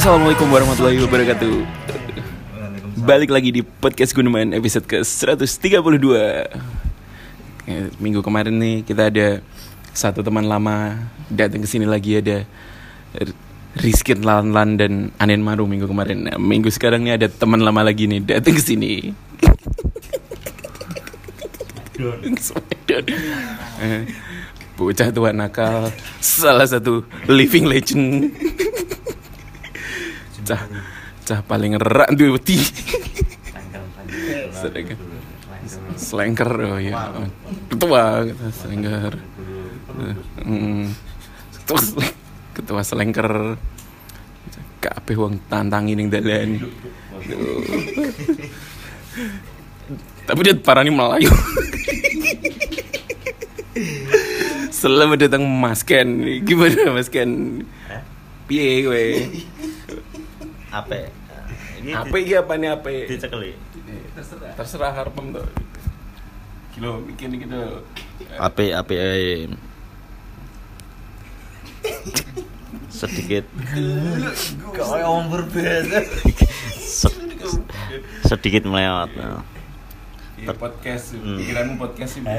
Assalamualaikum warahmatullahi wabarakatuh. Balik lagi di podcast Guneman episode ke-132. Minggu kemarin nih kita ada satu teman lama datang ke sini lagi, ada Rizkin Lan dan Anen Maru minggu kemarin. Nah, minggu sekarang nih ada teman lama lagi nih datang ke sini. Bocah tua nakal, salah satu living legend. Cah paling erak duwe wedi. Slengker, oh iya. Ketua slengker. Ketua slengker. Kabeh wong tantangi ning dalan. Tapi dia parani Melayu. Selamat datang Mas Ken. Gimana Mas Ken? Piye kowe? Apa apa nih? dicekeli Terserah harpem tuh. Kilo bikin gitu. apa sedikit Kayak orang berbeda. sedikit melewat. Podcast, pikiranmu podcast sih.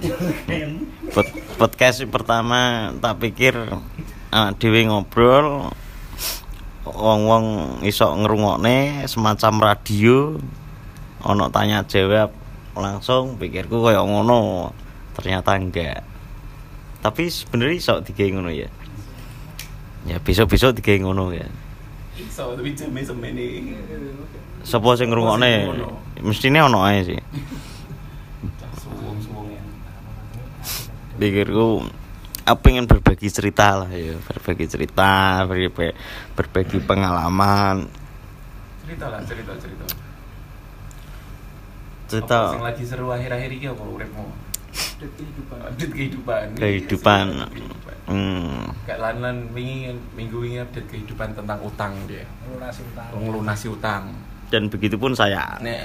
Podcast pertama tak pikir dhewe ngobrol wong-wong iso ngrungokne semacam radio, ono tanya jawab langsung, pikirku koyo ngono, ternyata enggak. Tapi sebenarnya iso digawe ngono ya. Ya besok-besok digawe ngono ya. Iso tapi jame semene. Sopo sing ngrungokne? Mestine ono ae sih. Suwung-suwung ya. Pikirku aku pengen berbagi cerita lah ya, berbagi pengalaman. Cerita Apa sing lagi seru akhir-akhir iki apa uripmu? Update kehidupan. Kayak lan minggu wingi update kehidupan tentang utang dia. Melunasi utang. Dan begitu pun saya. Nek.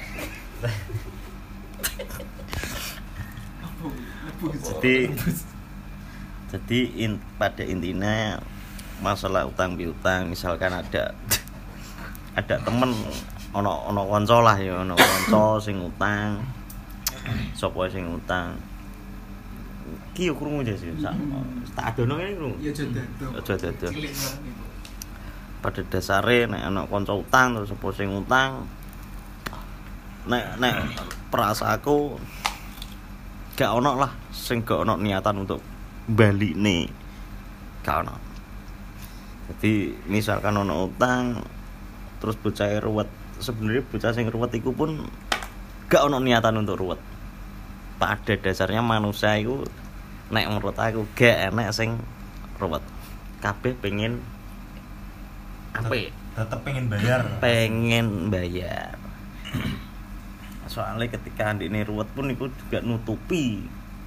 Jadi pada intinya masalah utang piutang, misalkan ada temen ono kanca lah ya, ono kanca sing utang. Sopo sing utang? Ki yo krungu aja sih. Tak adono ngene krungu. Ya aja dado. Pada dasare nek ana kanca utang terus sopo sing utang, nek perasaanku gak ono lah sing gak ono niatan untuk balik nih, gak ono. Jadi misalkan ono utang terus bocah ruwet, sebenarnya bocah sing ruwet iku pun gak ono niatan untuk ruwet. Pada dasarnya manusia iku nek menurut aku gak enak sing ruwet. Kabeh pengen apik, Tetep pengen bayar. Soalnya ketika andine ruwet pun iku juga nutupi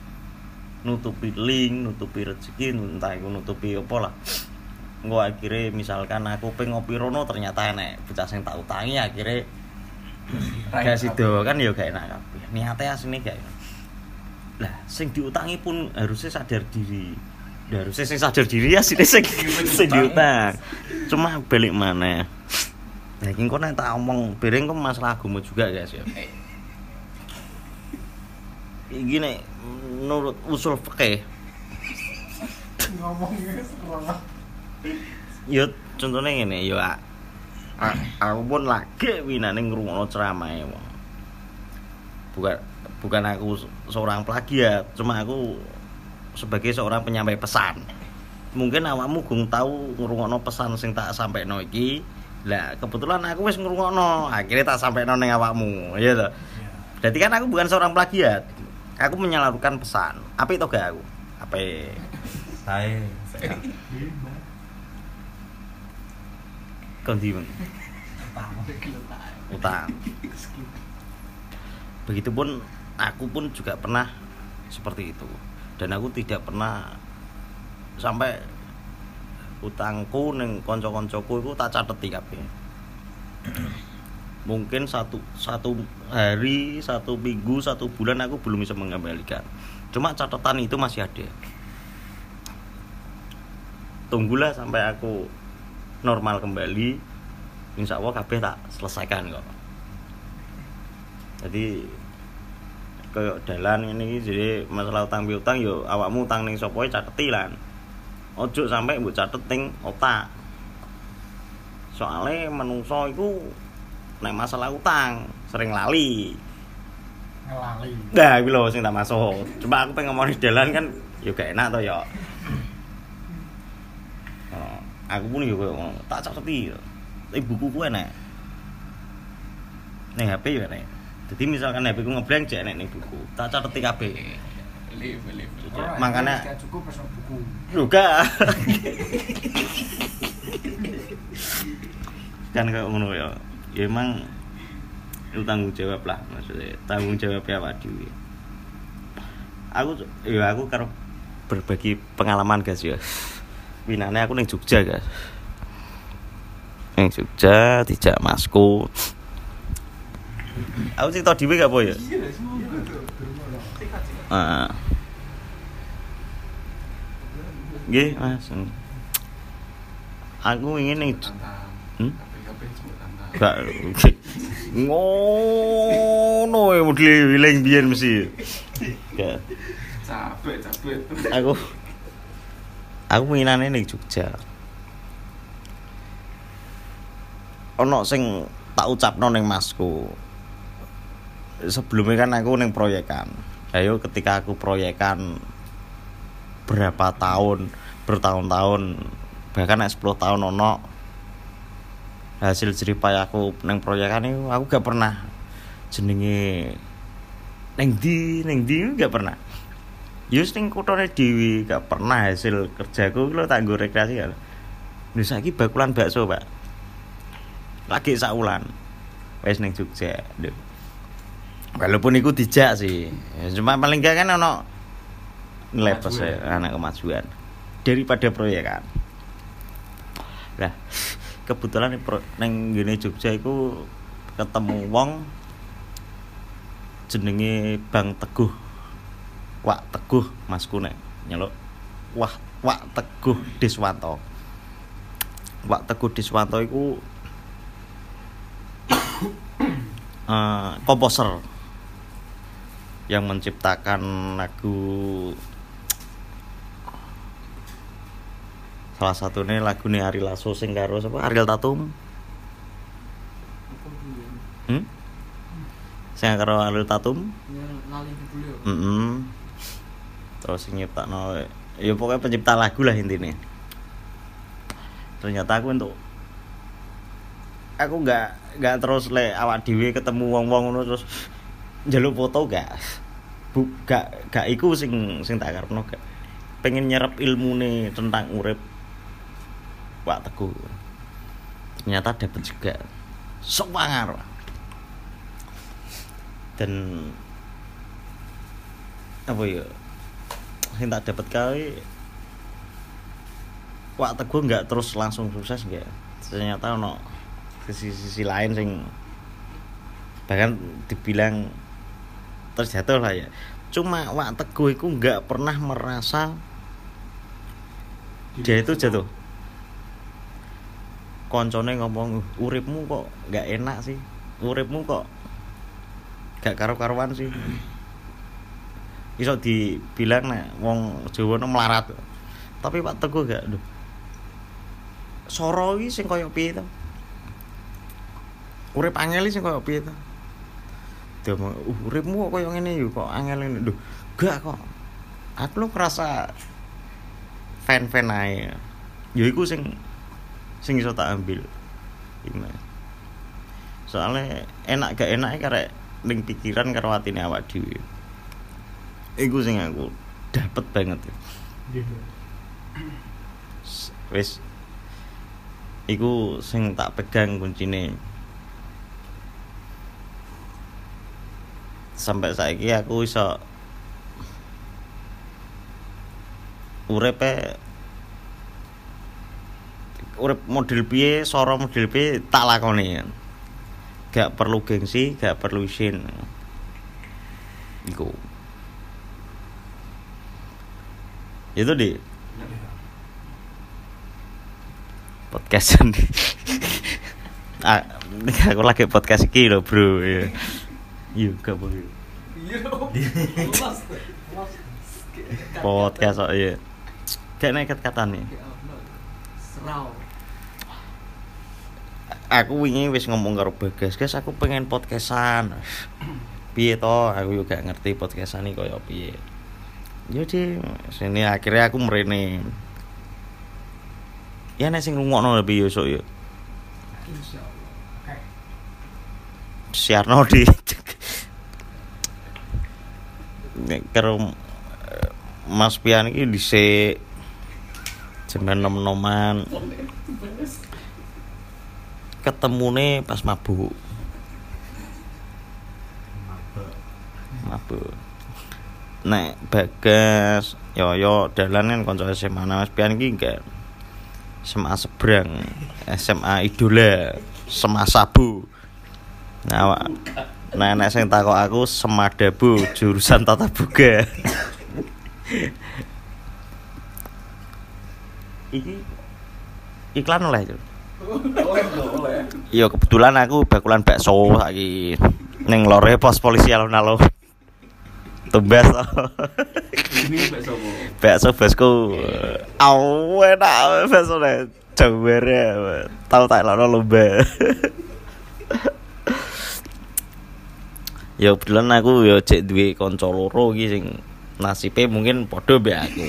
link, nutupi rezeki, entah iku nutupi apa lah. Engko akhire misalkan aku pengen ngopi rono ternyata enek bocah sing tak utangi, akhire gak sido kan ya gak enak kabeh. Niate asline gak enak. Lah sing diutangi pun harusnya sadar diri. Harusnya sing sadar diri ya sing diutang. Cuma balik mana? Nah iki kok nek tak omong bareng kok masalah agama juga guys ya. Iki nek menurut usul fikih Ngomongnya sekolah. yo contohnya ngene yo aku pun lagi winane ngrungokno ceramahe wong. Bukan aku seorang plagiat, cuma aku sebagai seorang penyampai pesan. Mungkin awakmu gung tahu ngrungokno pesan sing tak sampaikno iki. Lah kebetulan aku wis ngrungokno, akhirnya tak sampaikno ning awakmu, ya toh. Berarti kan aku bukan seorang plagiat. Aku menyalurkan pesan. Apik to gak aku? Apik. Sae. Kondi men. Utang. Begitupun aku pun juga pernah seperti itu. Dan aku tidak pernah sampai utangku ning kanca-kancaku iku tak cateti kabeh. Mungkin satu hari, 1 minggu, 1 bulan aku belum bisa mengembalikan. Cuma catatan itu masih ada. Tunggulah sampai aku normal kembali, insyaallah kabeh tak selesaikan kok. Jadi koyo dalan ngene iki jadi masalah utang piutang yo awakmu utang ning sapa cateti lan. Ojo sampai mbok catet ning otak. Soale menungso iku nek masalah utang sering lali. Ngelali. Nah, iki lho sing tak masuk. Cuma aku pengen ngomong di dalan kan yo gak enak to ya. Aku pun yo koyo tak cateti. Buku ku enek. Ning HP yo enek. Jadi misalkan HP ku ngeblank jek enek ning buku. Tak cateti kabeh. Live. Makanya gak cukup pas buku. lho gak. Kan kayak ngono ya. Ya emang itu tanggung jawab lah maksudnya. Tanggung jawab ya awak dhewe. Aku karo berbagi pengalaman guys ya. Winane aku ning Jogja guys. Ning Jogja dijak masku. Aku cerita dhewe gak apa ya? Nggih, Mas. Aku ingin ning gak ngono ya model wiling biyen mesti. Gak. Capek. Aku winane ning Jogja. Ono sing tak ucapno ning masku. Sebelumnya kan aku ning proyekan. Ayo ketika aku proyekan bertahun-tahun bahkan 10 tahun ono hasil jeripaya aku ning proyekan itu aku gak pernah jenenge ning ndi gak pernah. Yus ning kuthane dhewe gak pernah hasil kerjaku lho tak nggo rekreasi ya. Lho saiki bakulan bakso, Pak. Lagi saulan. Wis ning Jogja. Walaupun iku dijak sih. Cuma paling gak kan ono nilai plus anak kemajuan daripada proyekan. Lah, kebetulan ning ngene Jogja iku ketemu wong jenenge Bang Teguh. Wak Teguh masku nek nyeluk. Wak Teguh Diswanto. Wak Teguh Diswanto iku komposer yang menciptakan lagu, salah satunya lagune Ari Lasso sing karo sapa Ariel Tatum. Sing karo Ariel Tatum. Lali judulnya. Terus sing nyiptakno ya pokoknya pencipta lagu lah intinya. Ternyata aku enggak terus le awak dhewe ketemu wong-wong ngono terus njaluk foto gak iku sing tak karepno gak pengen nyerap ilmune tentang urip Pak Teguh. Ternyata dapat juga semangat dan apa ya sing tak dapat kali Pak Teguh enggak terus langsung sukses enggak. Ternyata ono sisi lain sing bahkan dibilang terjatuh lah ya. Cuma Wak Teguh itu nggak pernah merasa dia itu jatuh. Koncone ngomong uripmu kok nggak enak sih, uripmu kok gak karo-karuan sih. Iso dibilang nek wong Jawa melarat. Tapi Pak Teguh gak lho. Soro iki sing koyo piye to? Urip angel sing koyo piye to? Demong uripmu kok koyo ngene yo kok angel ngene. Lho, gak kok. Aku lu ngerasa fan-fan ae. Ya iku sing iso tak ambil. Soalnya enak gak enake karek ning pikiran karo atine awak dhewe. Iku sing aku dapet banget. Wis iku sing tak pegang kuncine. Sampai saiki aku iso urip model piye, soro model piye tak lakoni. Gak perlu gengsi, gak perlu isin. Iku. Itu di podcast Aku lagi podcast iki lho, Bro. Iya, gak boleh. Podcast kok ya. Gak neket katane. Serau. Aku wingi wis ngomong karo Bagas, guys, aku pengen podcastan. Piye to? Aku juga gak ngerti podcastan iki koyo piye. Jadi sini akhirnya aku mrene. Ya nek sing ngrungokno lebih yo sok yo. Insyaallah. Oke. Siarno di nek karo Mas Pian iki dhisik jam 6-6-an. Ketemune pas mabuk. Nek Bagas, yo dalan kan kanca SMA Mas Pian iki enggak SMA seberang, SMA Idola, SMA Sabu. Nah, nek sing takok aku Semadabu, jurusan Tata Boga. Iki iklan oleh itu. Oleh. Iya kebetulan aku bakulan bakso saiki ning lore pos polisi alun-alun. Tumbas. Ini bakso apa? Bakso bosku. Enak bakso ne. Jawere. Tau tak lono lomba. Ya kebetulan aku ya cek duwe kanca loro iki sing nasibe mungkin padha mbek aku.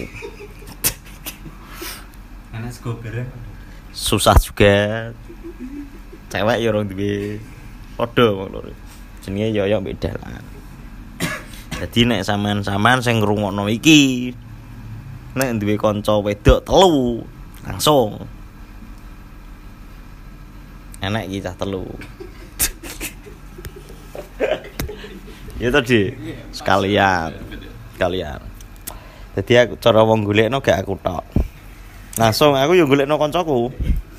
Ana sego bareng. Susah juga. Cewek ya orang duwe padha wong loro. Jenenge Yoyo mbek dalan. Dadi nek sampean-sampean sing ngrungokno iki nek duwe kanca wedok telu langsung enak iki cah telu. Ya tadi sekalian. Dadi aku cara wong golekno gak aku tok. Langsung aku yo golekno kancaku.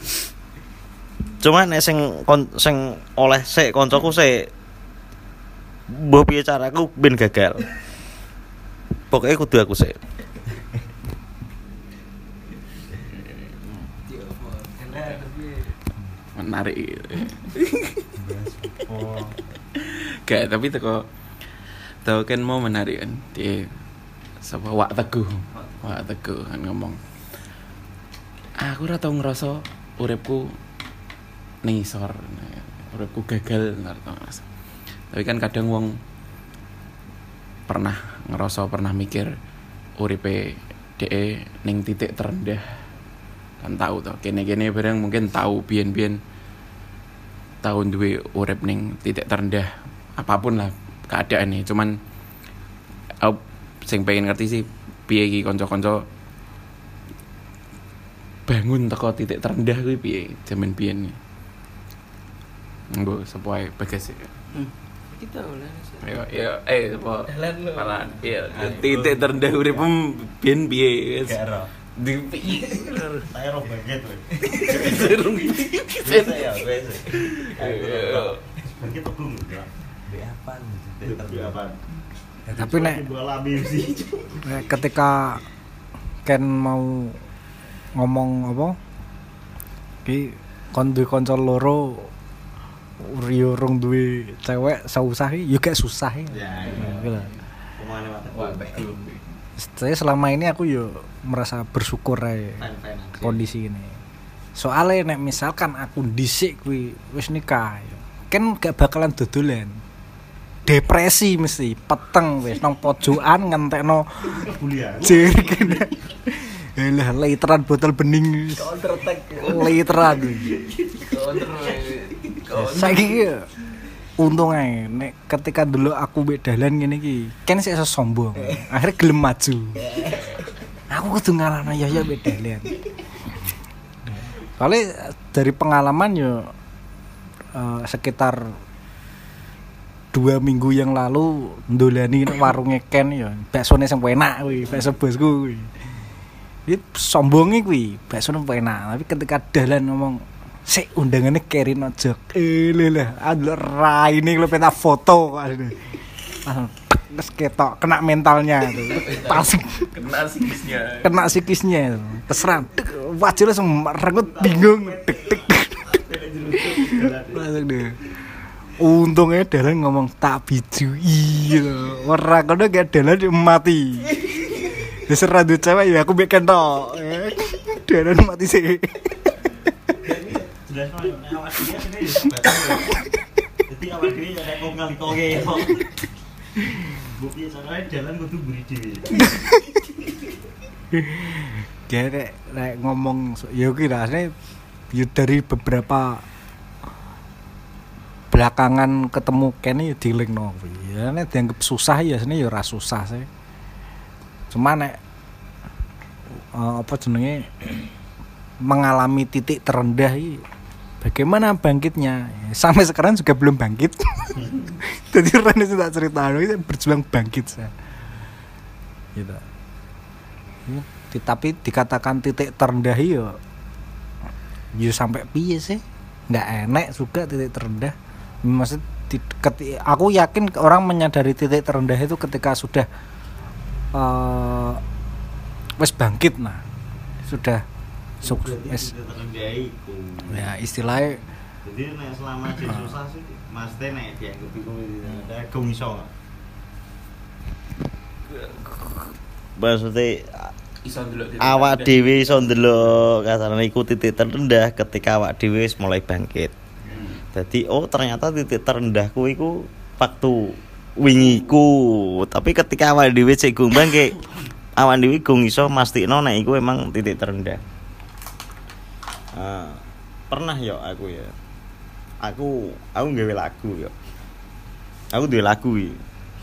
Cuma nek sing oleh sik kancaku sik mbok piye caraku ben gagal. Pokoke kudu aku sik. Menarik. Gak, tapi teko kan mau menarik kan. Dia sapa Wak Teguh kan ngomong. Aku ora tau ngerasa uripku ning isor. Uripku gagal ngerasa. Tapi kan kadang wong pernah mikir uripe dhek ning titik terendah. Kan tahu to, kene-kene bareng mungkin tahu biyen-biyen tahun duwe urip ning titik terendah apapun lah keadaannya. Cuman aku sing pengen ngerti sih piye iki kanca-kanca bangun teko titik terendah kuwi piye jaman biyen. Nggo sapa ae Bagas. Kita oleh. Ya, apa? Dalan lho. Malan. Iya, titik terendah uripmu biyen piye? Gak Di saya roh banget weh. Serung Ya, wes. Bagi tegung enggak? Be apa nih? Ya, tapi nek ketika Ken mau ngomong apa ki kon duwe kanca loro urung duwe cewek susah iki yo gak susah ya. Ya. Wah, betul. Saya selama ini aku yo merasa bersyukur ae kondisi ini. Soalnya nek misalkan aku dhisik kuwi wis nikah yo. Kan gak bakalan dodolan. Depresi mesti peteng wis nang pojokan ngentekno kuliah. Jere lah literan botol bening. Literan. Saiki untung ae nek ketika dulu aku mbek dalan ngene iki kan sik iso sombong. Akhirnya gelem maju. Aku kudu ngalahno ya mbek dalan. Soalnya dari pengalaman yo sekitar 2 minggu yang lalu ndolani warunge Ken yo baksone sing enak kuwi, bakso bosku kuwi. Iki sombonge kuwi, baksone enak, tapi ketika dalan ngomong sik undangane Kerin aja. Lha raine lho peta foto kok. Terus ketok kena mentalnya tuh. Pas kena psikisnya. Terserah wajah langsung rengut bingung. Tek. Langsung deh. Untungnya Dalan ngomong tak biju iya. Ora kono gak Dalan mati. Wis ora duwe cewek ya aku bikin tok. Dalan mati sih. Jelas no awak dhewe sini ya. Dadi awak dhewe ya nek kok ngalikoke ya. Bukti soalnya jalan kudu buri dhewe. Dia nek ngomong ya ki rasane ya dari beberapa belakangan ketemu Ken ya dilingno kuwi. Ya nek dianggap susah ya sini ya ora susah sih. Cuma nek apa jenenge mengalami titik terendah iki bagaimana bangkitnya? Sampai sekarang juga belum bangkit. Jadi Rene tak cerita itu berjuang bangkit saya. Gitu. Tapi dikatakan titik terendah ya sampai piye sih? Nggak enak juga titik terendah. Maksud aku yakin orang menyadari titik terendah itu ketika sudah wes bangkit nah. Sudah sukses. Ya istilahnya jadi nek selama di susah sih mesti nek dianggap iku gong iso. Maksudnya awak dhewe iso ndelok kasarane iku titik terendah ketika awak dhewe wis mulai bangkit. Jadi ternyata titik terendahku iku waktu wingi iku. Tapi ketika awak dhewe sik gong bangkit, awak dhewe gong iso mastikno nek iku emang titik terendah. Pernah yo aku ya. Aku nggawe lagu yo. Aku duwe lagu iki.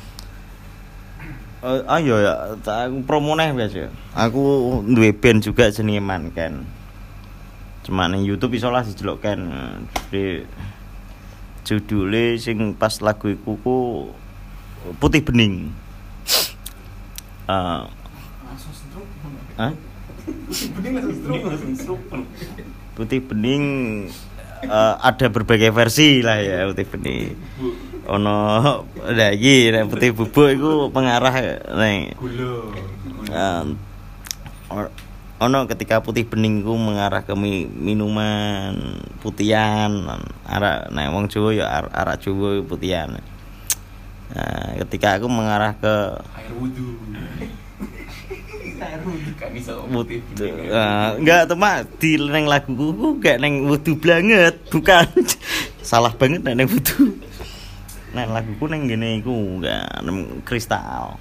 Ayo ya, aku promo neh biasa. Aku duwe band juga jenenge Manken. Cuma ning YouTube iso lah dijelokkan. Jadi judule sing pas lagu iku ku Putih Bening. Putih Bening ada berbagai versi lah ya Putih Bening. Ono lagi nek Putih Bubuk iku pengarah ning ono ketika Putih Bening iku mengarah ke minuman putihan arak nek wong Jawa ya arak Jawa putihan. Ketika aku mengarah ke air wudu. Kan iso putih. Enggak teman di neng laguku gak neng wudu banget, bukan. Salah banget neng wudu. Neng laguku neng gini iku enggak neng kristal.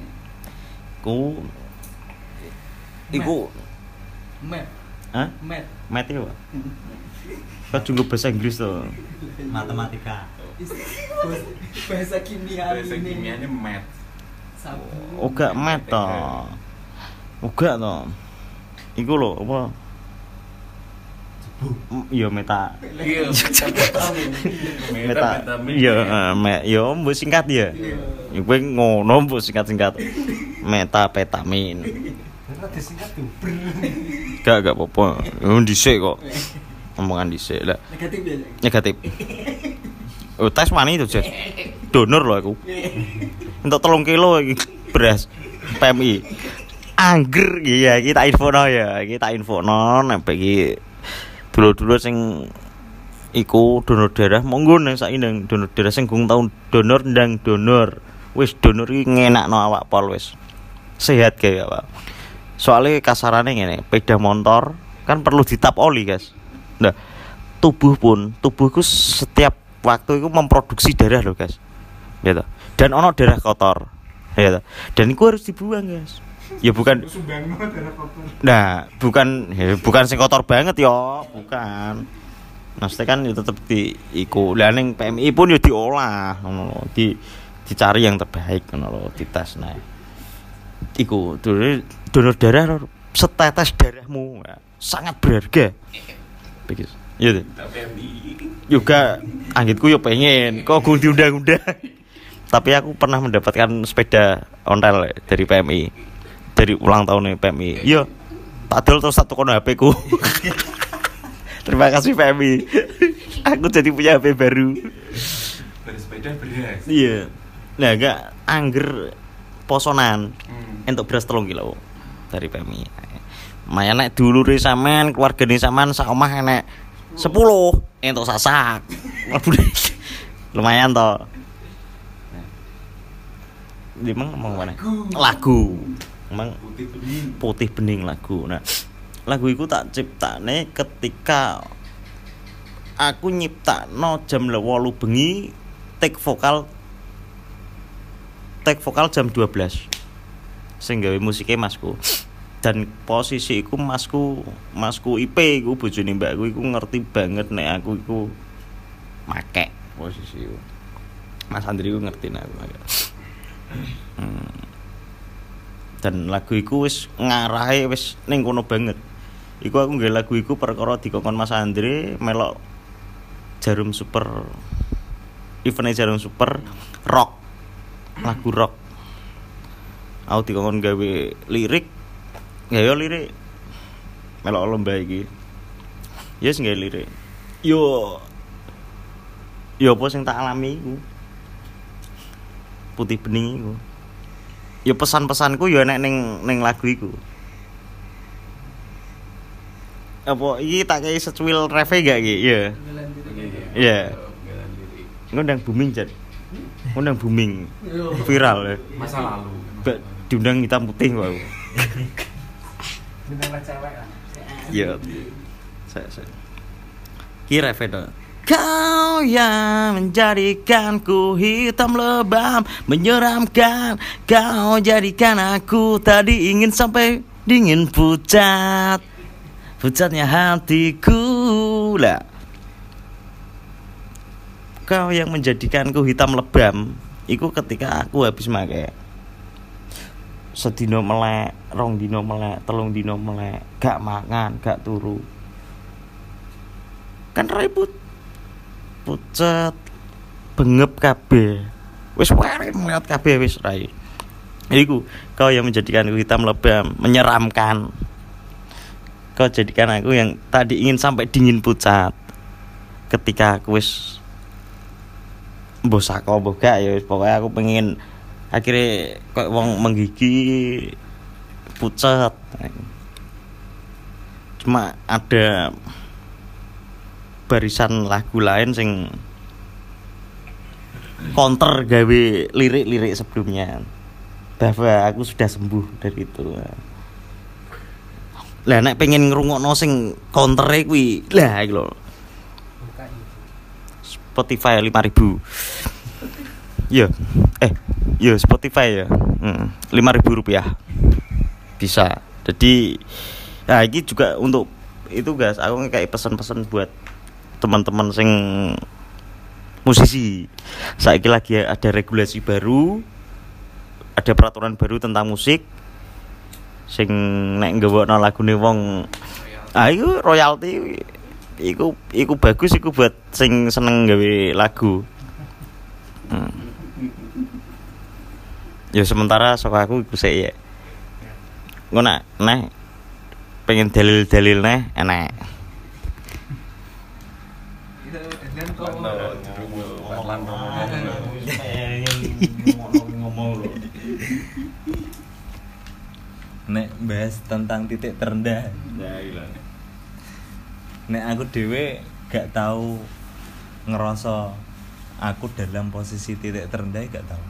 Iku Mat. Hah? Mat itu. Kau juga bahasa Inggris tuh. Matematika. Bahasa kimia bahasa ini. kimianya mat. Sabu. Oga mat toh. Oga toh. Iku lho apa? Iya meta. Iya, Meta. Iya, yo mbok singkat ya. Iku ngono mbok singkat-singkat. Metapetamin. Ora disingkat duber. Gak apa-apa. Dhisik kok. Omongan dhisik lah. Negatif ya. Negatif. Oh, tes wani itu, Jas. Donor loh aku. Untuk 3 kilo iki beras PMI. Angger iya iki tak infono ya. Iki tak infono nek iki dulur-dulur sing iku donor darah monggo nang saiki nang donor darah sing gung tau donor ndang donor. Wis donor iki ngenakno awak pol wis. Sehat kae awak. Soale kasarane ngene, sepeda motor kan perlu ditap oli, guys. Nah, tubuhku setiap waktu itu memproduksi darah loh, guys. Gitu. Dan ono darah kotor. Gitu. Dan itu harus dibuang, guys. Ya bukan Sumbangno darah kotor. Nah, bukan sing kotor banget ya, bukan. Maksudnya kan ya tetep iku. Lah ning PMI pun ya diolah ngono lho. Dicari yang terbaik ngono lho, dites nah. Iku donor darah setetes darahmu ya, sangat berharga. Begitu. Iya. Juga anggitku yo pengen kok gue diundang-undang. Tapi aku pernah mendapatkan sepeda ontel dari PMI. Dari ulang tahun PMI. Iya. Tak adol terus 1 kono HP ku. Terima kasih PMI. Aku jadi punya HP baru. Bersepeda beras. Iya. Nah, enggak angger posonan. Entuk beras 3 kilo dari PMI. Maya nek dulure sampean, keluargane sampean sak omah enek 10 entuk sasak. Lumayan toh. Dimang ngomong mana? Lagu. Emang putih bening lagu. Nah, lagu iku tak ciptane ketika aku nyiptakno jam 8 bengi, take vokal jam 12. Sing gawe musike masku. Dan posisi iku masku IP iku bojone mbakku iku ngerti banget nek aku iku make posisi iku. Mas Andri iku ngerti nek aku make. Dan lagu iku wis ngarahe wis ning kono banget. Iku aku nggawe lagu iku perkara dikongkon Mas Andre melok Jarum Super. Event Jarum Super rock. Lagu rock. Aku dikongkon gawe lirik. Ya yo lirik. Melok lomba iki. Ya wis gawe lirik. Yo apa sing tak alami iku. Putih bening iku. Ya pesan-pesanku ya nek ning lagu iku. Apa iki tak kei secuil reve gak iki? Ya. Iya. Ngundang booming jan. Ngundang booming. Viral ya. Masa lalu. Diundang hitam putih kok aku. Bintang cewek lah. Iya. Saya. Ki reve to. Kau yang menjadikanku hitam lebam, menyeramkan. Kau jadikan aku tadi ingin sampai dingin pucat. Pucatnya hatiku lah. Kau yang menjadikanku hitam lebam. Iku ketika aku habis make. Sedino melek, 2 dino melek, 3 dino melek, gak mangan, gak turu. Kan ribut. Pucet bengep kabeh. Wis wae ngeliat kabeh wis rai. Iku kau yang menjadikanku hitam lebam, menyeramkan. Kau jadikan aku yang tadi ingin sampai dingin pucat. Ketika aku wis mbok saka mbok gak ya wis pokoke aku pengen akhirnya kok wong menggigi pucat. Cuma ada barisan lagu lain sing counter gawe lirik-lirik sebelumnya bahwa aku sudah sembuh dari itu. Lah nek pengen ngrungokno sing countere kuwi lah iki lho. Spotify 5.000. Yo Spotify ya. 5.000 rupiah. Bisa. Jadi nah ini juga untuk itu guys, aku kayak pesan-pesan buat teman-teman sing musisi. Saiki lagi ada regulasi baru, ada peraturan baru tentang musik. Sing nek nggawakno lagune wong ayo royalti iku bagus iku buat sing seneng gawe lagu. Ya sementara sok aku iku sik ya. Ngono nek pengen dalil-dalil neh enak. Dan kok ngomong lho. Nek bahas tentang titik terendah. Ya iya. Nek aku dhewe gak tahu ngerasa aku dalam posisi titik terendah gak tahu.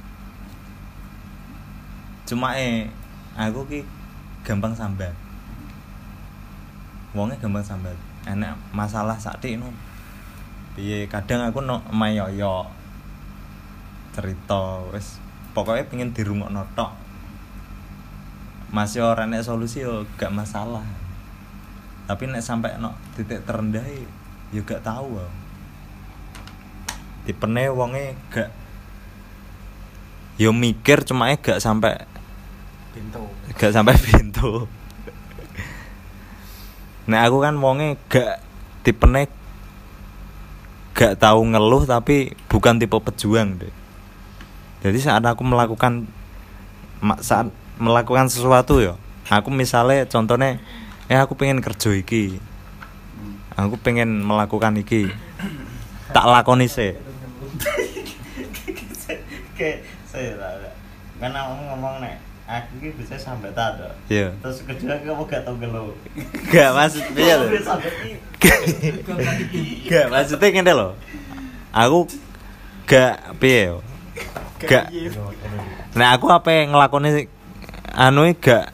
Cuma aku ki gampang sambat. Wongnya gampang sambat. Enak masalah sakti no. Piye kadang aku no mayoyo cerita wis pokoknya pengen dirungokno tok. Masih ora nek solusi yo gak masalah. Tapi nek sampai no titik terendah yo gak tahu. Tipene wonge gak yo mikir cuma gak sampai pintu. Nek aku kan wonge gak tipene gak tahu ngeluh tapi bukan tipe pejuang deh. Jadi saat aku melakukan sesuatu ya, aku misalnya contohnya aku pengen kerja iki, aku pengen melakukan iki, tak lakoni sih. Kayak saya kan ngomong nek Aku ki bisa sambatan to. Iya. Terus kedua kamu gak tau gelo. Gak maksudnya lho. Gak maksudnya ngene lho. Aku gak piye yo. Gak. Nah aku apa ngelakoni anu gak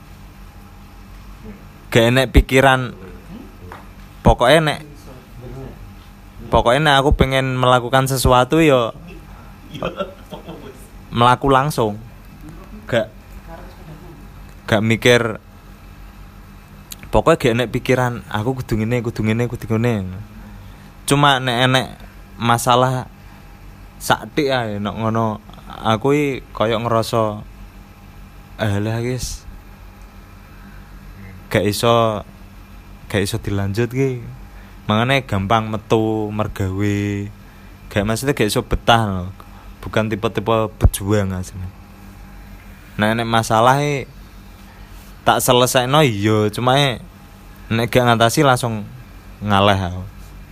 enek pikiran pokoknya nek aku pengen melakukan sesuatu yo melaku langsung gak mikir pokoknya gak enek pikiran aku kudu ngene cuma nek enek masalah saktik ae nek ngono aku iki koyo ngerasa alah guys gak iso dilanjut ki makanya gampang metu mergawe gak maksudnya gak iso betah loh. Bukan tipe-tipe pejuang asline nah nek masalah tak selesaino iya cuma nek gak ngatasi langsung ngalah aku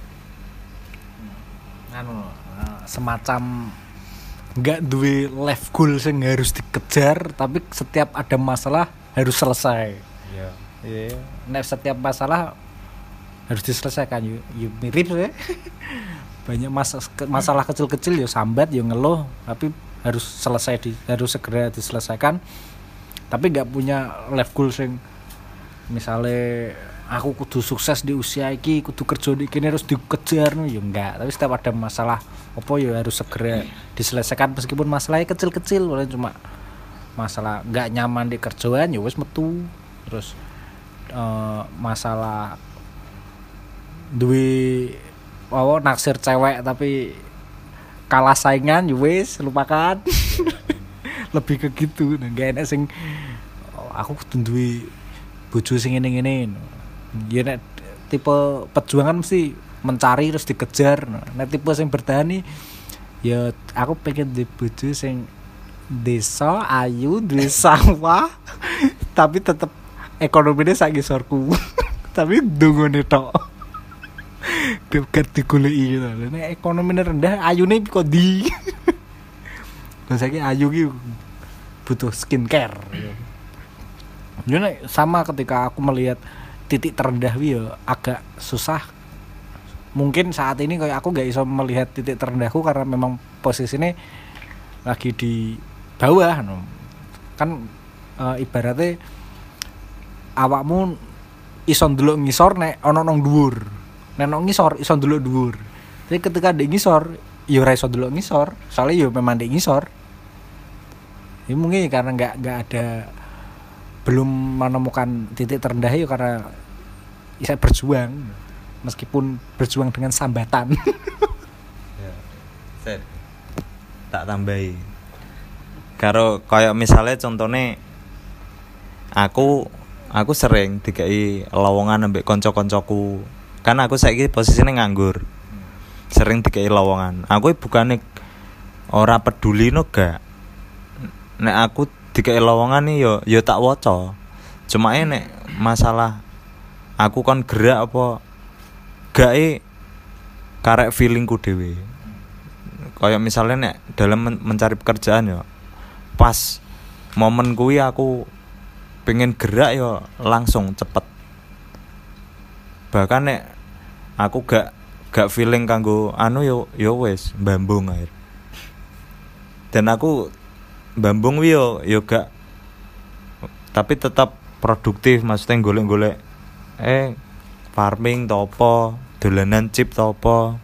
semacam nggak duwe life goal sing harus dikejar tapi setiap ada masalah harus selesai. Iya. Nek setiap masalah harus diselesaikan yuk mirip ya. Banyak masalah kecil-kecil yo sambat yo ngeluh tapi harus harus segera diselesaikan. Tapi nggak punya life goal sing misalnya aku kudu sukses di usia iki, kudu kerja di kene harus dikejar ya enggak. Tapi setiap ada masalah apa ya harus segera diselesaikan meskipun masalahnya kecil-kecil, cuma masalah nggak nyaman di kerjaan ya wis metu. Terus masalah duwe naksir cewek tapi kalah saingan ya wis lupakan. Lebih ke gitu. Nah, gak enak sing aku kudu duwe bojo sing ngene-ngene. Ya nek tipe perjuangan mesti mencari terus dikejar. Nek tipe sing bertahan nih ya aku pengen di bojo sing desa ayu duwe sawah tapi tetep ekonomine sak ngisorku. Tapi dungone tok. Dekat digoleki gitu. Nek ekonomine rendah ayune kok di. Lah saiki ayu ki butuh skincare. Ya nek sama ketika aku melihat titik terendah ya agak susah. Mungkin saat ini kayak aku gak bisa melihat titik terendahku karena memang posisinya lagi di bawah no. Kan ibaratnya awakmu iso ndelok ngisor nek ana nang dhuwur. Nek nang ngisor iso ndelok dhuwur. Tapi ketika ndek ngisor ya ora iso ndelok ngisor, soalnya ya memang ndek ngisor. Ya mungkin karena enggak ada belum menemukan titik terendah ya karena bisa berjuang meskipun berjuang dengan sambatan. Ya. Set. Tak tambahi. Karo kayak misalnya contohnya aku sering dikai lowongan ambek kanca-kancaku. Kan aku saiki posisine nganggur. Sering dikai lowongan. Aku bukannya ora peduli no gak. Nek aku dikai lowongan nih yo tak waca. Cuma nek masalah aku kon gerak apa gak karek feelingku dhewe. Kayak misalnya nek dalam mencari pekerjaan ya pas momen kuwi aku pengen gerak yo langsung cepet. Bahkan nek aku gak feeling kanggo anu yo wis mbambung air. Dan aku mbambung yo gak tapi tetap produktif maksudnya golek-golek farming to apa, dolanan chip to apa.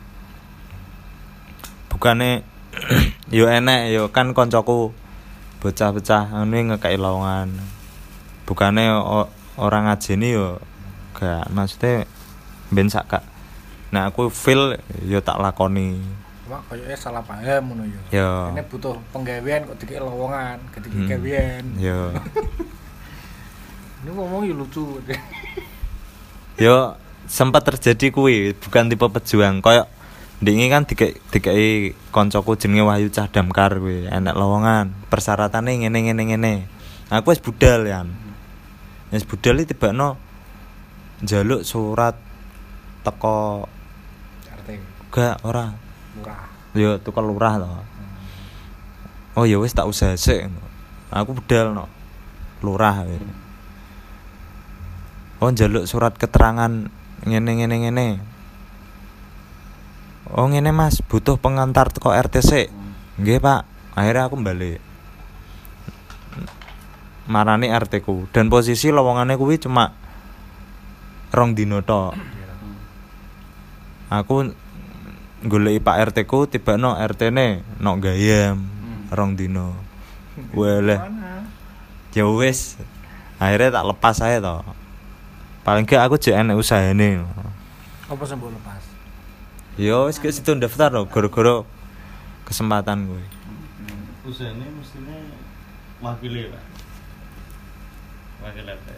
Bukane yo enek yo kan koncoku bocah-bocah anu ngekeki lowongan. Bukane orang ngajeni yo gak maksudnya ben sak gak. Nah aku feel yo tak lakoni. Cuma kayaknya salah paham ngono yo. Yo. Ini butuh penggawean kok dikek lowongan, ketika gawean. Yo. Ini ngomong lucu. Yo sempat terjadi kuwi, bukan tipe pejuang. Kayak ndingi kan dikai koncoku jenenge Wahyu Cah Damkar kuwi, enek lowongan. Persyaratannya ngene. Aku wis budal ya. Wis budal iki tibakno njaluk surat teko RT. Gak ora. Murah. Yo tukar lurah to. Oh ya wis tak usah sik. Aku budal no. lurah. Oh njaluk surat keterangan ngene. Oh ngene Mas, butuh pengantar teko RTC. Nggih Pak. Akhirnya aku balik. Marani RT ku dan posisi lowongane kuwi cuma 2 dino tok. Aku goleki Pak RT ku tibano RT-ne nok Gayam 2 dino. Weleh. Ya wis. Akhirnya tak lepas ae to. Paling gak aku jek enek usahane. Apa sing mbok lepas? Yo wis ke situ daftar lho gara-gara kesempatan kuwi. Usahane mestine wakile, Pak. Wakil RT.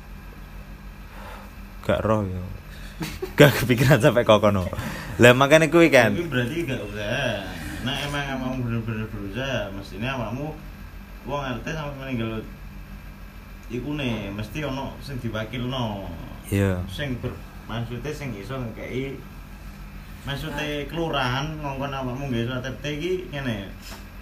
Gak roh yo. Gak kepikiran sampai kokono. Lah makane kuwi kan. Tapi berarti gak usah. Nah emang kamu bener-bener berusaha, mestinya kamu wong RT sampai meninggal iku nih, mesti ono sing diwakilno. Iya. Sing maksudnya sing iso ngekeki maksudnya kelurahan ngongkon awakmu nggih surat RT iki ngene.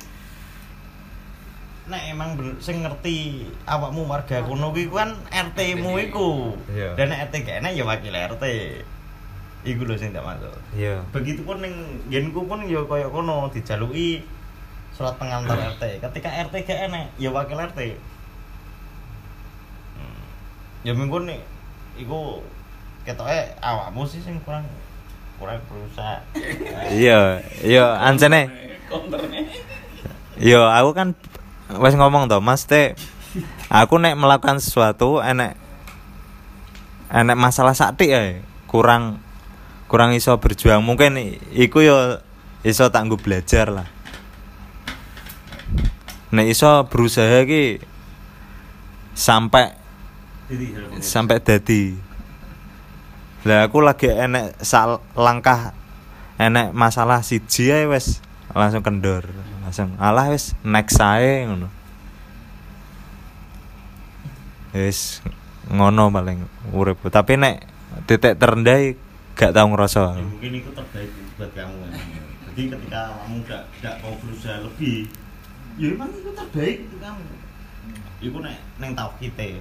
Nek emang sing ngerti awakmu warga kono kuwi kan RT-mu iku. Iya. Dan nek RT gak enak ya wakil RT. Iku lho sing tak maksud. Iya. Begitupun ning nggenku pun ya kaya kono dijaluki surat pengantar RT. Ketika RT gak enak ya wakil RT. Ya minggu nih iku ketoke awakmu sih sing kurang berusaha. Iya, ancene. Yo, aku kan wis ngomong to, Mas Teh. Aku nek melakukan sesuatu enek masalah sakti ae, kurang iso berjuang. Mungkin iku yo iso tak nggo belajar lah. Nek iso berusaha ki sampai dadi. Lah aku lagi enek langkah enek masalah siji ae wis langsung kendor. Langsung alah wis next ae ngono. Wis ngono paling urip. Tapi nek titik terendah gak tau ngerasa. Ya, mungkin itu terbaik buat kamu. Jadi ketika kamu gak mau berusaha lebih, ya emang itu terbaik untuk kamu. Iku nek neng tauhid e.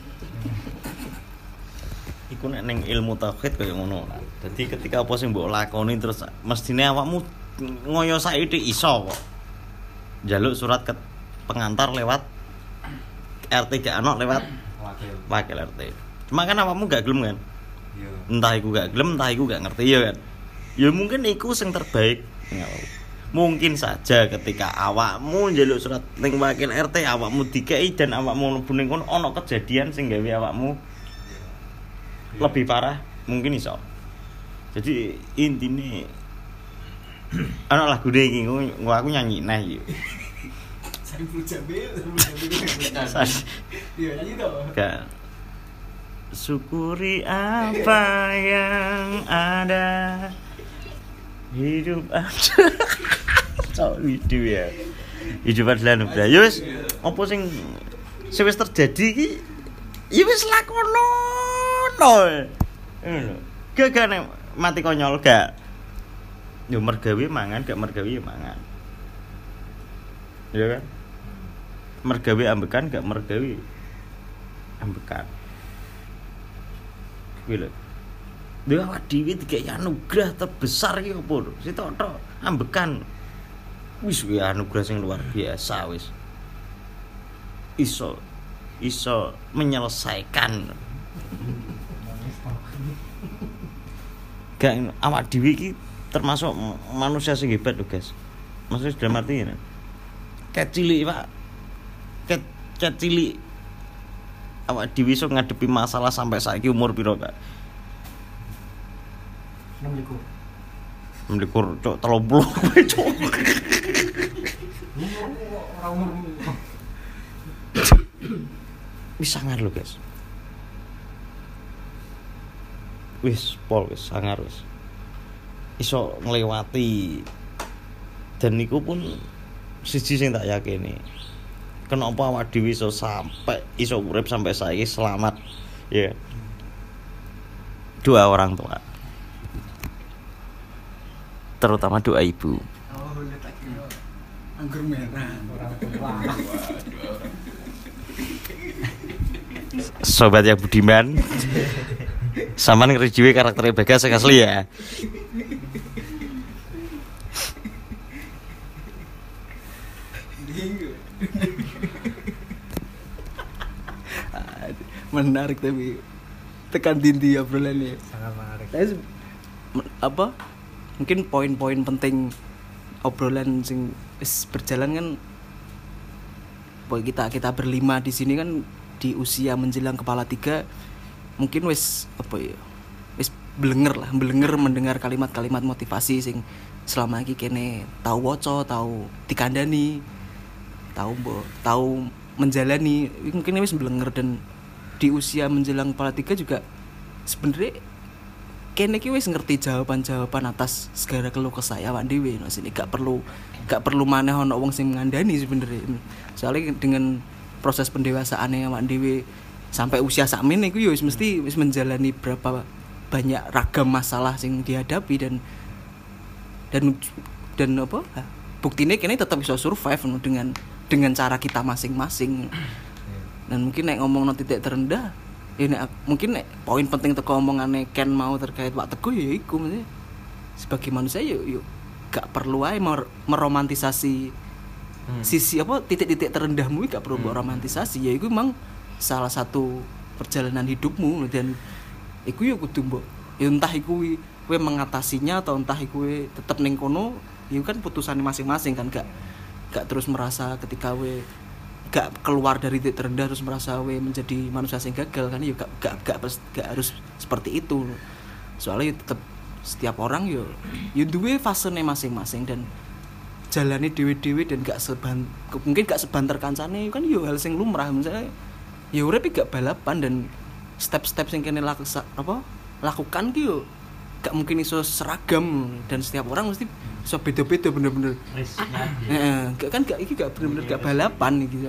Iku nek ning ilmu tauhid kaya ngono. Dadi ketika apa sing mbok lakoni terus mestine awakmu ngoyo saiki iso kok. Njaluk surat pengantar lewat RT gak ono lewat wakil RT. Cuma kan awakmu gak gelem kan? Iya. Entah iku gak gelem, entah iku gak ngerti ya kan. Ya mungkin iku sing terbaik. Mungkin saja ketika awakmu njaluk surat ning wakil RT awakmu dikei dan awakmu mlebu ning kono ana kejadian sing gawe awakmu lebih parah, mungkin iso. Jadi intine ana lagu iki aku nyanyi nah iki. Saiful Jamil. Iya nyanyi toh. Kan. Syukuri apa yang ada. Hidup ada. Hidup ya. Hidup adalah anugerah. Ya wis, apa sing wis terjadi iki ya wis lakono. Ngono. Gak nek mati konyol gak. Yo mergawe mangan, gak mergawe ya mangan. Ya kan? Mergawe ambekan, gak mergawe ambekan. Kuwi lho. Dewa awak dhewe dikai anugerah terbesar iki opo lho? Sitok-tok ambekan. Wis kuwi anugerah sing luar biasa wis. Iso menyelesaikan. Gak awak dhewe iki termasuk manusia sing hebat lho, guys. Maksudnya dalam arti ini. Ket cilik, Pak. Ket cilik. Awak dhewe iso ngadepi masalah sampai saiki umur piro, Kak? 6 cok 30 kowe cok. Wis sangar lho, guys. Wis sangar wis. Iso nglewati dan niku pun siji sing tak yakini. Kenapa awak dhewe iso sampai iso urip sampai saiki selamat ya. Doa orang tua. Terutama doa ibu. Oh, letak anggur merah orang tua. Sobat yang budiman. Sampean ngrejiwe karakter Bagas sing asli ya. Menarik tapi tekan dindi obrolannya. Sangat menarik. Apa? Mungkin poin-poin penting obrolan sing wis berjalan kan boy kita berlima di sini kan di usia menjelang kepala 3 mungkin wis apa ya? Wis blenger mendengar kalimat-kalimat motivasi sing selama iki kene tahu waca, tahu dikandani, tahu menjalani, mungkin wis blenger. Dan di usia menjelang kepala 3 juga sebenarnya kene iki wis ngerti jawaban-jawaban atas segala keluh kesah awak dhewe. Nah, sini gak perlu maneh ana wong sing ngandani sebenarnya. Soalnya dengan proses pendewasaane awak dhewe sampai usia sakmene iku ya wis mesti wis menjalani berapa banyak ragam masalah sing dihadapi dan apa? Buktine kene tetap bisa survive dengan cara kita masing-masing. Dan mungkin nek ngomongno titik terendah ya mungkin poin penting teko omongane Ken mau terkait Pak Teguh ya iku maksudnya sebagai manusia yuk gak perlu ae meromantisasi sisi apa titik-titik terendahmu gak perlu romantisasi. Ya iku memang salah satu perjalanan hidupmu dan iku yo kudu mbok ya entah iku kowe mengatasinya atau entah iku tetep ning kono ya kan putusane masing-masing kan gak terus merasa ketika kowe gak keluar dari titik terendah terus merasa we menjadi manusia yang gagal kan ya gak harus seperti itu. Soalnya tetap setiap orang yo duwe fasene masing-masing dan jalani dewe-dewe dan mungkin gak sebanter kancane kan yo hal sing lumrah. Misalnya ya urip gak balapan dan step-step sing kene lakukan ki yo gak mungkin iso seragam dan setiap orang mesti iso beda-beda bener-bener. Iki gak bener-bener gak balapan iki.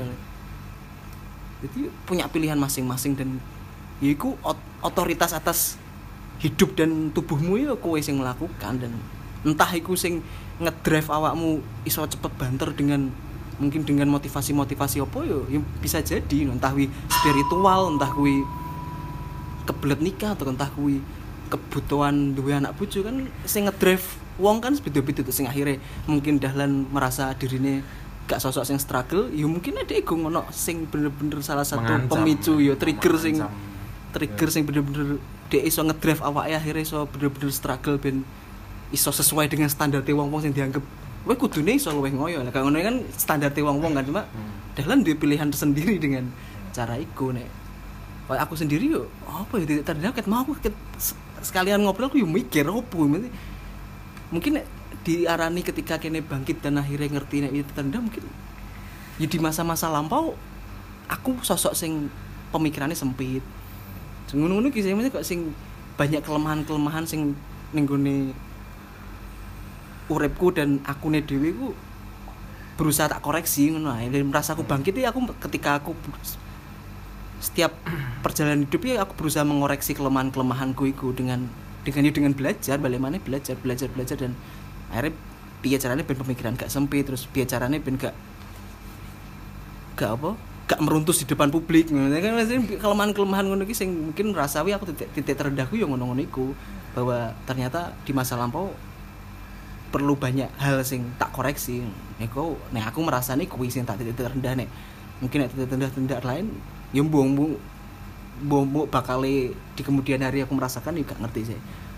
Jadi punya pilihan masing-masing dan ya iku otoritas atas hidup dan tubuhmu ya kowe sing melakukan. Dan entah iku sing ngedrive awakmu iso cepet banter dengan mungkin dengan motivasi-motivasi apa ya bisa jadi entah kuwi spiritual, entah kuwi kebelet nikah atau entah kuwi kebutuhan duwe anak bojo kan sing ngedrive wong kan beda-beda sing akhirnya mungkin dahlan merasa dirine gak sosok sing struggle ya mungkin ada ego ngono sing bener-bener salah satu pemicu ya trigger sing bener-bener dia iso ngedrive awake akhirnya iso bener-bener struggle ben iso sesuai dengan standar wong-wong sing dianggap kowe kudune iso luwih ngoyo. Lah kang ngono kan standar wong-wong kan cuma dahlan duwe pilihan tersendiri dengan cara iku nek kayak aku sendiri yo apa ya titik terendah ket mau aku sekalian ngobrol aku yo mikir opo mungkin diarani ketika kene bangkit dan akhirnya ngerti nek titik terendah mungkin ya di masa-masa lampau aku sosok sing pemikirannya sempit ngono-ngono ki sing kok sing banyak kelemahan-kelemahan sing ning gone uripku dan akune dhewe ku berusaha tak koreksi ngono ae. Merasa aku bangkit ya aku ketika aku setiap perjalanan hidup ya aku berusaha mengoreksi kelemahan-kelemahanku itu dengan belajar bagaimana belajar dan akhirnya piye carane ben pemikiran gak sempit terus piye carane ben gak meruntus di depan publik ngono kan kelemahan-kelemahan ngono iki sing mungkin merasawi aku titik terendahku ya ngono-ngono iku bahwa ternyata di masa lampau perlu banyak hal sing tak koreksi. Nek aku merasani kuwi sing tak titik terendah nek mungkin nek titik terendah lain ya mbung bakal di kemudian hari aku merasakan juga ngerti sih.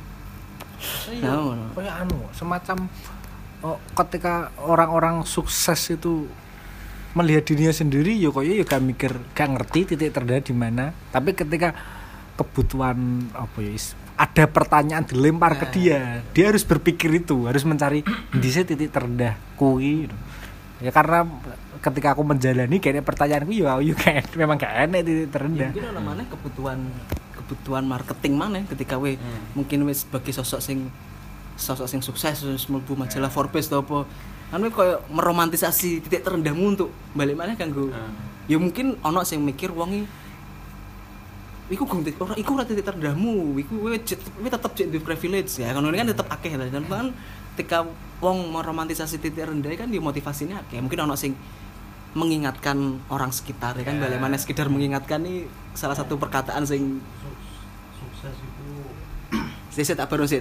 Kayak semacam ketika orang-orang sukses itu melihat dirinya sendiri ya koyo ya gak mikir, gak ngerti titik terendah di mana. Tapi ketika kebutuhan ada pertanyaan dilempar ke dia harus berpikir itu, harus mencari di titik terendah kuwi. Ya karena ketika aku menjalani kayaknya pertanyaanku memang gak enak titik terendah. Ya, mungkin mana kebutuhan marketing mana ketika mungkin sebagai sosok sing sukses terus mlebu majalah Forbes atau apa kan koyo meromantisasi titik terendahmu untuk balik mana kanggo ya mungkin ono sing mikir wong iku ora titik terendahmu iku tetep di privilege ya kan tetep akeh lah dan kan ketika wong meromantisasi titik rendah kan dia motivasinya akeh mungkin ono sing mengingatkan orang sekitar ya kan, bagaimana sekedar mengingatkan nih salah satu perkataan sing Sukses itu saya tak baru sih.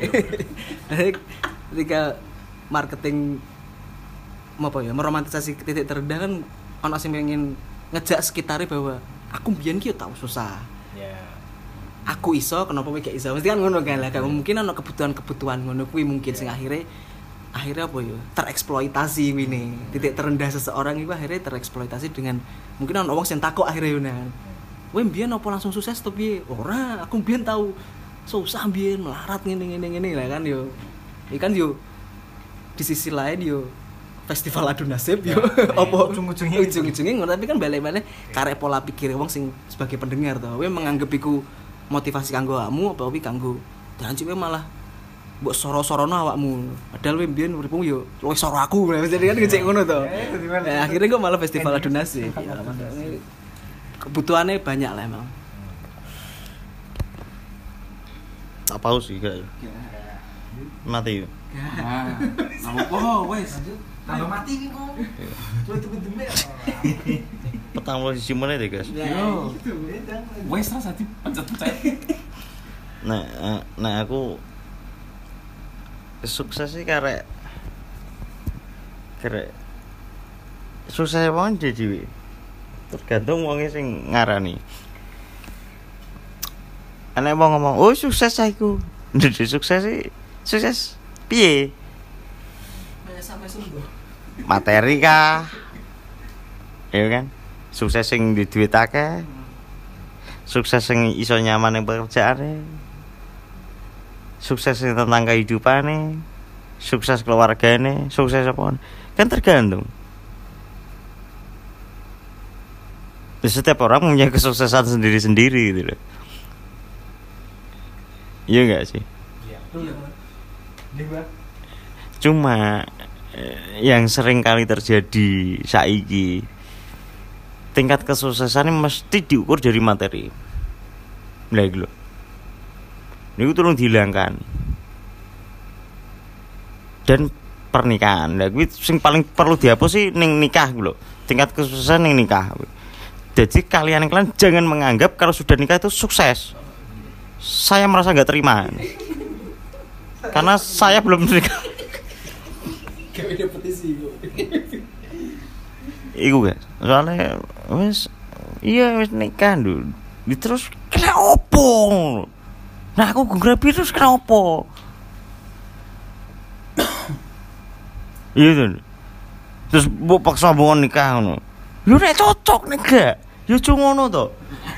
Ketika marketing apa ya, meromantisasi titik terendah kan ono sing pengen ngejak sekitarnya bahwa aku mbiyen ki tau susah. Aku iso, kenapa kowe gak iso? Mesti kan ngono kan lah. Mungkin ono kebutuhan-kebutuhan ngono kuwi mungkin sing akhirnya apa ya? Tereksploitasi wini. Titik terendah seseorang itu akhirnya tereksploitasi dengan mungkin ono wong sing takok akhirnya yo nang. Kowe mbiyen apa langsung sukses to piye? Ora, aku mbiyen tau susah mbiyen melarat ngene lah kan yo. Ikan yo di sisi lain yo festival adu nasib yo apa ujung-ujungnya ngono, tapi kan balik-balik karek pola pikir wong sing sebagai pendengar to. Kowe menganggap iku motivasi kanggo awakmu apa kuwi kanggo janji kowe malah mbok soro-sorono awakmu. Padahal kowe mbiyen uripmu yo luwih soro aku. Jadi kan ngecek ngono to. Akhirnya kok malah festival adu nasib. Ya, kebutuhannya banyak lah emang. tak paus sih gak. Mati. Nah, apa wes. Tambah mati ki kok. Coba tunggu-tunggu. Petang lo sisi mana deh guys. Yo. Wes rasa dipencet-pencet. Nah aku sukses sih karek sukses wong dhewe. Tergantung wonge sing ngarani. Ana wong ngomong, "Oh, sukses aku." Ndek sukses sih. Sukses piye? Sampai sembuh. Materi kah? Iya kan? Sukses sing di duit akeh. Sukses sing iso nyaman ning pekerjaane. Sukses sing tentang kehidupane. Sukses keluargane, sukses apa? Kan tergantung. Setiap orang punya kesuksesan sendiri-sendiri gitu loh. Iya enggak sih? Iya. Cuma yang sering kali terjadi saiki tingkat kesuksesan mesti diukur dari materi. Lah iku lho. Niku tolong dihilangkan. Dan pernikahan. Lah kuwi sing paling perlu dihapus sih ning nikah lho. Tingkat kesuksesan ning nikah. Jadi kalian jangan menganggap kalau sudah nikah itu sukses. Saya merasa enggak terima. Karena saya belum nikah. Kayak petisi kok. Iku guys, soalnya wis nikah dulu. Terus kena opo? Nah aku grabi terus kena opo? Iya tuh. Terus mbok paksa mbok nikah ngono. Yo nek cocok nek gak, yo cuma ngono to.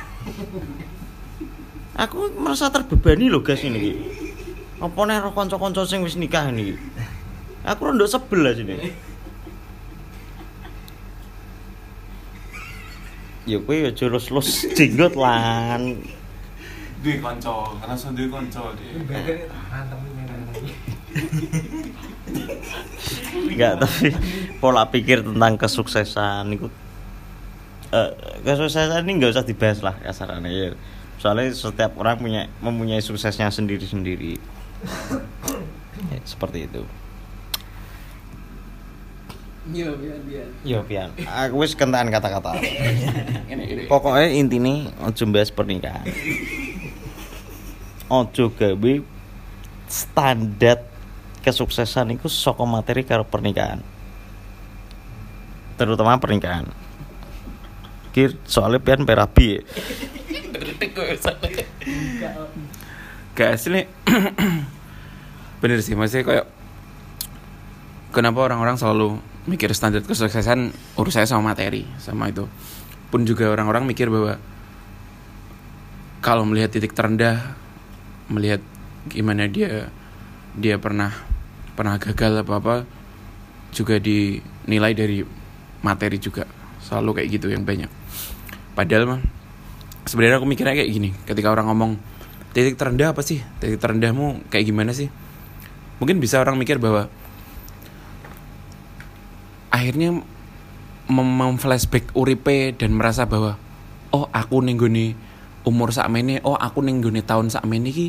Aku merasa terbebani lho guys ini. Apa nek karo kanca-kanca sing wis nikah niki. Aku rondok sebel lah sini. Ya kowe yo jurus-lus jenggot lan. Duwe kanca, ngerasa duwe kanca deh. Enggak, tapi pola pikir tentang kesuksesan itu kesuksesan ini enggak usah dibahas lah kasarannya ya. Soalnya setiap orang mempunyai suksesnya sendiri-sendiri. Ya, seperti itu. Yo pian. Aku wis kentaan kata-kata. Pokoknya intine aja bahas pernikahan. Aja gawe standar kesuksesan itu saka materi karo pernikahan. Terutama pernikahan. Kir soalnya pian perabi. Gak asli. Bener sih, maksudnya kayak kenapa orang-orang selalu mikir standar kesuksesan urusannya sama materi, sama itu. Pun juga orang-orang mikir bahwa kalau melihat titik terendah, melihat gimana dia pernah gagal apa juga dinilai dari materi juga. Selalu kayak gitu yang banyak. Padahal mah sebenarnya aku mikirnya kayak gini, ketika orang ngomong titik terendah apa sih? Titik terendahmu kayak gimana sih? Mungkin bisa orang mikir bahwa akhirnya memflashback uripe dan merasa bahwa oh aku ning gone umur sakmene, oh aku ning gone tahun sakmene iki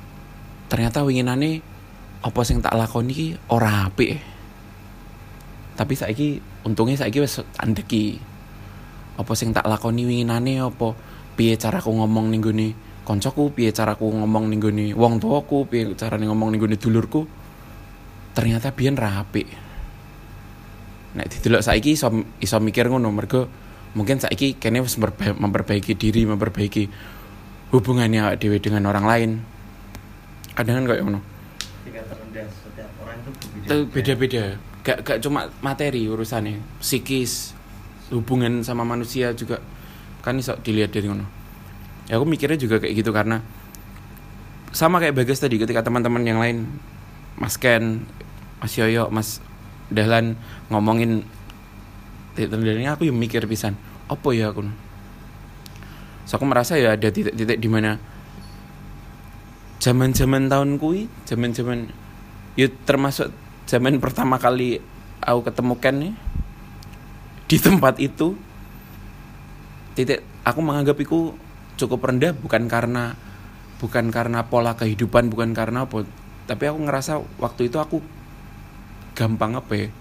ternyata winginane apa sing tak lakoni iki ora apik. Tapi saiki untungnya saiki wis andeki. Apa sing tak lakoni winginane apa piye caraku ngomong ning gone koncoku, piye caraku ngomong ning gone wong tuaku, piye carane ngomong ning gone dulurku. Ternyata biyen ra apik. Nek didelok saiki iso mikir ngono mergo mungkin saiki kene wis memperbaiki diri, memperbaiki hubungannya awake dhewe dengan orang lain. Kadang kan kayak ngono. Tingkat terendah setiap orang itu Itu beda-beda. Gak cuma materi urusannya, psikis, hubungan sama manusia juga kan iso dilihat dari ngono. Ya aku mikirnya juga kayak gitu karena sama kayak Bagas tadi ketika teman-teman yang lain Mas Ken, Mas Yoyo, Mas Dahlan ngomongin titik terendahnya, aku yang mikir pisan, apa ya aku? So aku merasa ya ada titik-titik di mana zaman-zaman tahun kui, zaman-zaman ya termasuk zaman pertama kali aku ketemu Ken nih di tempat itu, titik aku menganggap itu cukup rendah bukan karena pola kehidupan, bukan karena apa, tapi aku ngerasa waktu itu aku gampang apa ya,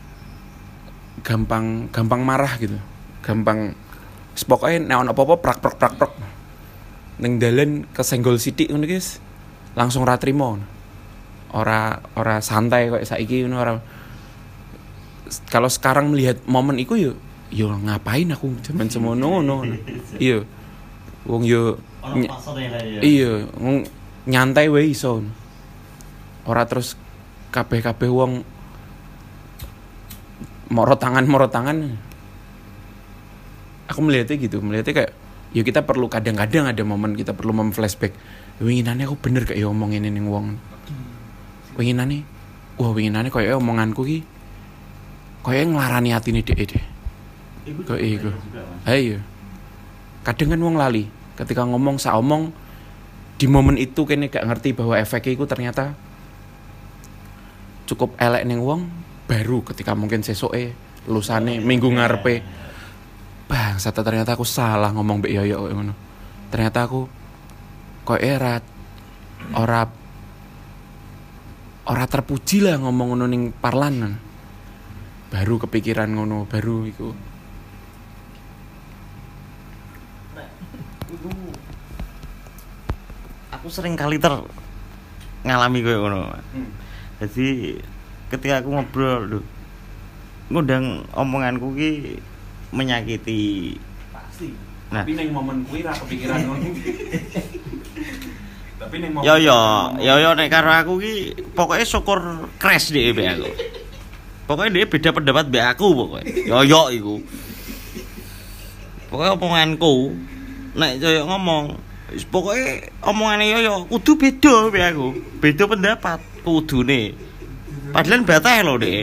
gampang marah gitu, gampang pokoknya nek ono apa-apa prak ning dalan kesenggol sithik ngono guys langsung ra trimo, ora santai kayak saiki ngono, ora. Kalau sekarang melihat momen iku yo ngapain aku jaman semono ngono. Iya. Wong yo iya, nyantai wae iso. Ora terus kabeh wong moro tangan. Aku melihatnya kayak ya kita perlu kadang-kadang ada momen kita perlu memflashback. Winginane aku bener kayak ngomongin ning wong. Winginane koyo omonganku ki koyo nglarani atine dhek deh. Iku. Ayo. Kadang kan wong lali ketika ngomong saomong di momen itu kene gak ngerti bahwa efeknya itu ternyata cukup elek ning wong baru ketika mungkin sesoke lusane minggu ngarepe bang ternyata aku salah ngomong mbek Yoyo ngono. Ternyata aku kok ora terpuji lah ngomong ngono ning parlanan. Baru kepikiran ngono, baru iku. Aku sering kali ngalami koyo ngono. Jadi ketika aku ngobrol ngundang omonganku ki menyakiti. Pasti. Nah. Tapi ning momen kuwi ra kepikiran ngono. Tapi ning momen Yo nek karo aku ki pokoke syukur crash dhek mbek aku. Pokoke dia beda pendapat mbek aku pokoke. Yo iku. Pokoke omonganku nek yo ngomong pokoke omongane yo kudu beda mbek aku. Beda pendapat kudune. Padahal batah lho dhek.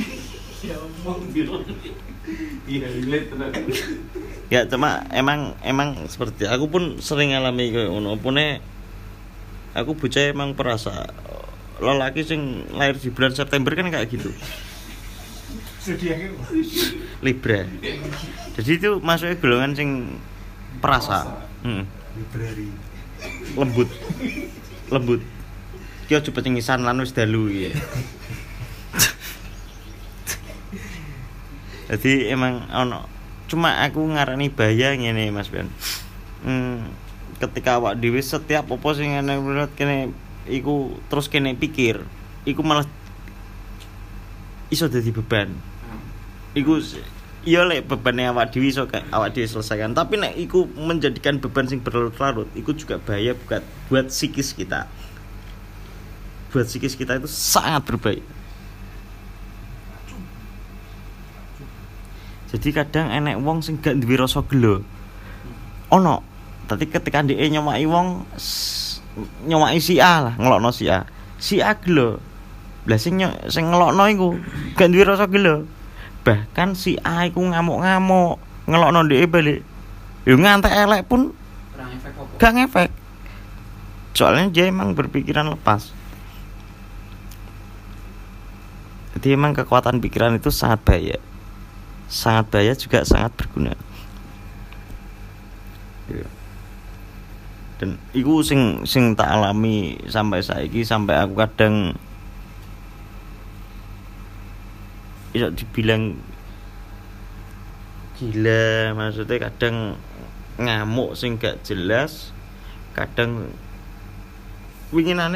Ya cuma emang seperti aku pun sering ngalami koyo ngono. Opone aku bocah emang perasa lelaki sing lahir di bulan September kan kayak gitu. Libra. Jadi itu masuknya golongan sing perasa. Lembut. Ki aja pecengisan lan wis dalu iki. Jadi emang ono cuma aku ngarani bahaya ngene Mas Ben. Ketika awak dhewe setiap apa sing ngene kene iku terus kene pikir, iku malah iso dadi beban. Iku iya lek bebane awak dhewe iso awak dhewe selesaikan, tapi nek iku menjadikan beban sing berlarut-larut, iku juga bahaya buat psikis kita. Buat psikis kita itu sangat berbahaya. Jadi kadang enek wong sing gak duwe rasa gelo. Ono. Tapi ketika dhek nyomaki wong nyomaki si A lah, ngelokno si A. Si A gelo. Lah sing ngelokno iku gak duwe rasa gelo. Bahkan si A iku ngamuk-ngamuk, ngelokno dhek balik. Yo ngantek elek pun gak ngefek. Soalnya dia emang berpikiran lepas. Jadi emang kekuatan pikiran itu sangat bahaya. Sangat bahaya juga sangat berguna. Dan iku sing tak alami sampai saiki, sampai aku kadang iso dibilang gila, maksudnya kadang ngamuk sing gak jelas, kadang winginane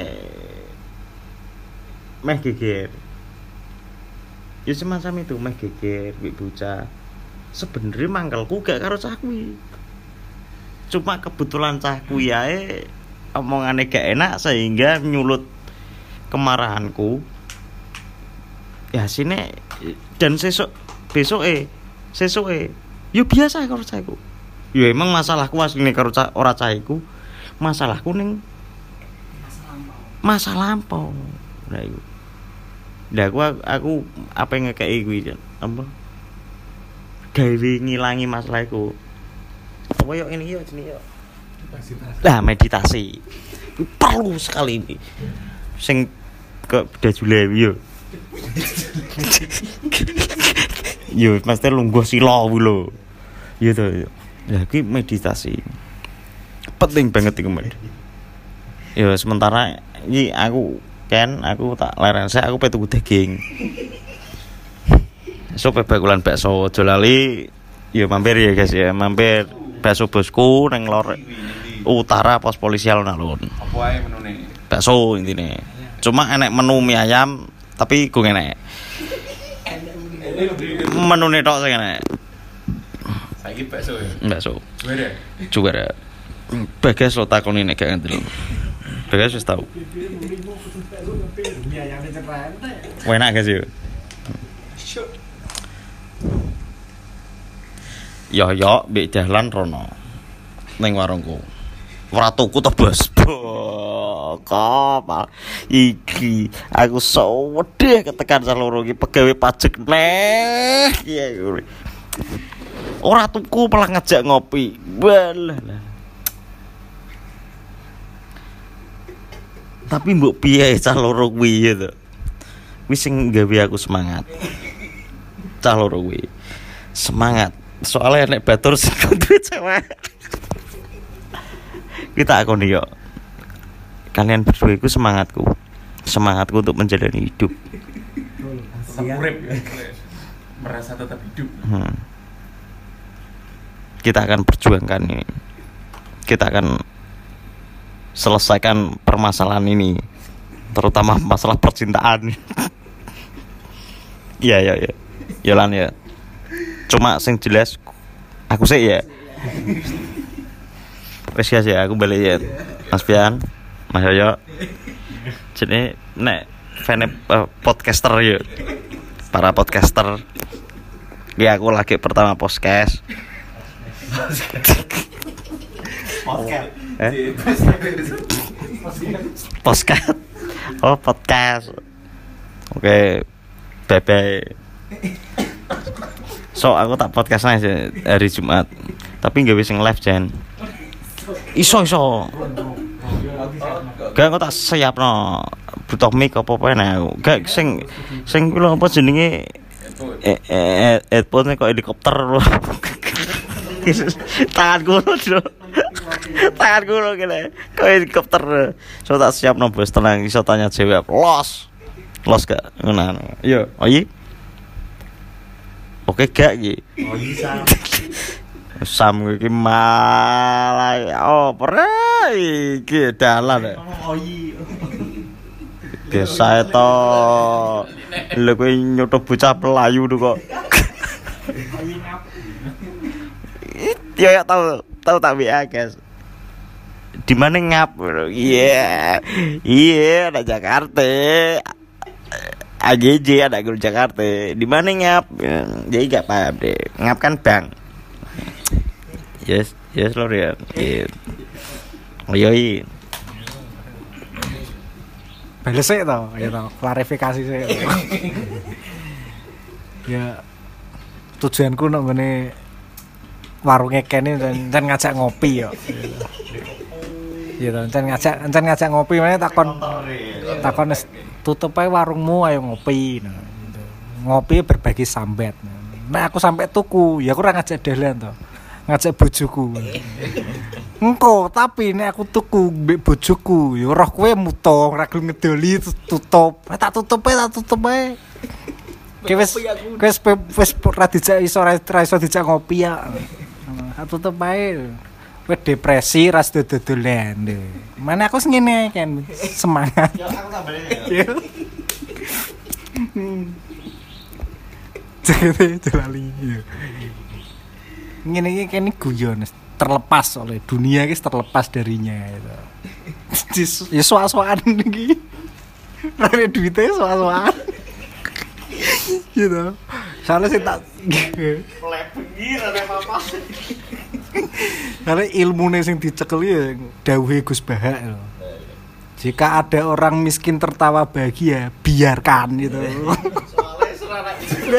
meh geger. Ya semacam itu meh geger mbek bocah. Sebenarnya mangkelku gak karo cah kuwi. Cuma kebetulan cah kuwi ae omongane gak enak sehingga nyulut kemarahanku. Ya sini dan besoke yo biasa karo cahku. Yo emang masalahku asline karo ora cahku. Masalahku ning masa lampau. Lah iku. Lah aku apa ngekeki kuwi apa? Gawe ngilangi masalah iku. Apa yo ini yo jenenge yo. Lah meditasi. Perlu sekali ini. Sing ke Dajulewi yo. Yo mesti lungguh sila kuwi lho. Yo to. Lah iki meditasi. Penting banget iku, Mas. Yo sementara iki aku tak leren sik aku tuku daging. So bakulan bakso aja lali. Yo mampir ya guys ya, mampir bakso bosku nang lor utara pos polisi alun-alun. Apa ae menune? Bakso intine. Cuma enek menu mie ayam tapi gue enek. Menune tok sing enek. Saiki bakso ya. Bakso. Juara. Juara. Bagas lo takoni nek gak ngerti. Bagas wis tau. Enak guys yo. Yo mbek dalan rono. Ning warungku. Ora tuku to, Bos. Kapal. Iki aku wedhe ketekan saloro iki pegawe pajak neh. Iya. Ora tuku malah ngajak ngopi. Walah. Tapi mbok piye cah loro kuwi ya to. Wis sing gawe aku semangat. Cah loro kuwi. Semangat. Soalnya nek batur sing duwe cewek. Kita akoni yo. Kalian berdua itu semangatku untuk menjalani hidup. Urip merasa tetap hidup. Kita akan perjuangkan ini. Kita akan selesaikan permasalahan ini, terutama masalah percintaan. Iya. Yolan ya. Cuma sing jelas aku sih ya. Wes ya aku balik ya. Mas Pian, Mas Yoyo. Jadi nek fan podcaster ya. Para podcaster. Ya aku lagi pertama podcast. Podcast. Oh, podcast. Oke. Bye-bye. So aku tak podcast aja hari Jumat. Tapi enggak bisa live Jan. Iso. Gak aku tak siapno. Butuh mic apa-apa nek aku. Gak sing kuwi lho apa jenenge headphone kok helikopter lho. Tanganku lho kene. Kok helikopter. So tak siapno bos tenang iso tanya jawab. Los gak ngono. Yo, oyi. Oke gak iki? Oyi Sam iki malah pernah iki dalan. Oyi. Biasa to. Lha kowe nyoto bocah pelayu kok. Ya tahu tak WA guys. Di mana ngap? Iya, ada Jakarta. AGJ ada guru Jakarta. Di mana ngap? Jadi gak paham deh. Ngap kan bang. Yes lor ya. Yoi. Bales sih tau, klarifikasi sih. Ya tujuanku nak ngene warungnya Ken ini dan ngajak ngopi ya. Gitu, ngajak ngopi mana takon tutup aja warungmu ayo ngopi. Nah, gitu. Ngopi berbagi sambat. Nah aku sampai tuku, ya aku ora ngajak dalan to. Ngajak bojoku. Engko tapi nek aku tuku mbek bojoku, ya roh kowe mutung, ra gelem ngedoli tutup. Tak tutup ae. Ki wis ra dijak iso dijak ngopi ya. Tutup ae. Wis depresi ras dodolan. Mana aku ngene kan semangat. Ya aku tambahin. Jadi lali. Ngene iki kene guyon terlepas oleh dunia iki terlepas darinya itu. Ya soal-soalan iki. Rene duite soal-soalan. Gitu. Soalnya sih tak Bengi rene apa. karena ilmune sing dicekel ya dawuhe Gus Bahak lho. Jika ada orang miskin tertawa bahagia, biarkan gitu. Soalnya serana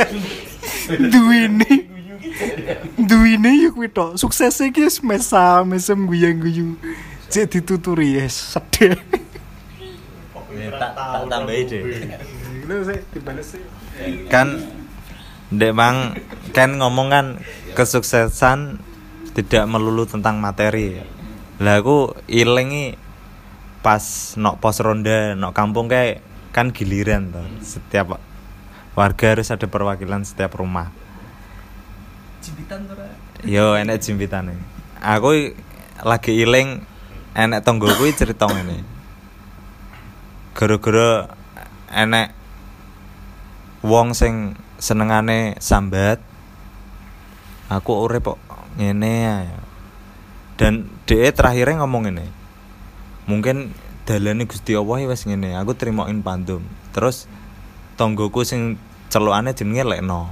duwine yo kuwi tok. Sukses iki wis mesem guyang-guyu. Cek dituturi ya sedih. Tak tambahi deh. Lho sih dibales sih. Kan Dek Bang kan ngomong kan kesuksesan tidak melulu tentang materi. Lah aku ilingi pas nok pos ronda nok kampung kayak kan giliran tuh. Setiap warga harus ada perwakilan setiap rumah. Jimpitan tuh. Yo enek jimpitane. Aku lagi iling enek tonggoku cerita ngene. Gara-gara enek wong sing senengane sambat. Aku urip kok ngene ya. Dan dhek terakhirnya ngomong ngene. Mungkin dalane Gusti Allah wis ngene, aku trimoin pandum. Terus tonggoku sing celukane jenenge Lekno.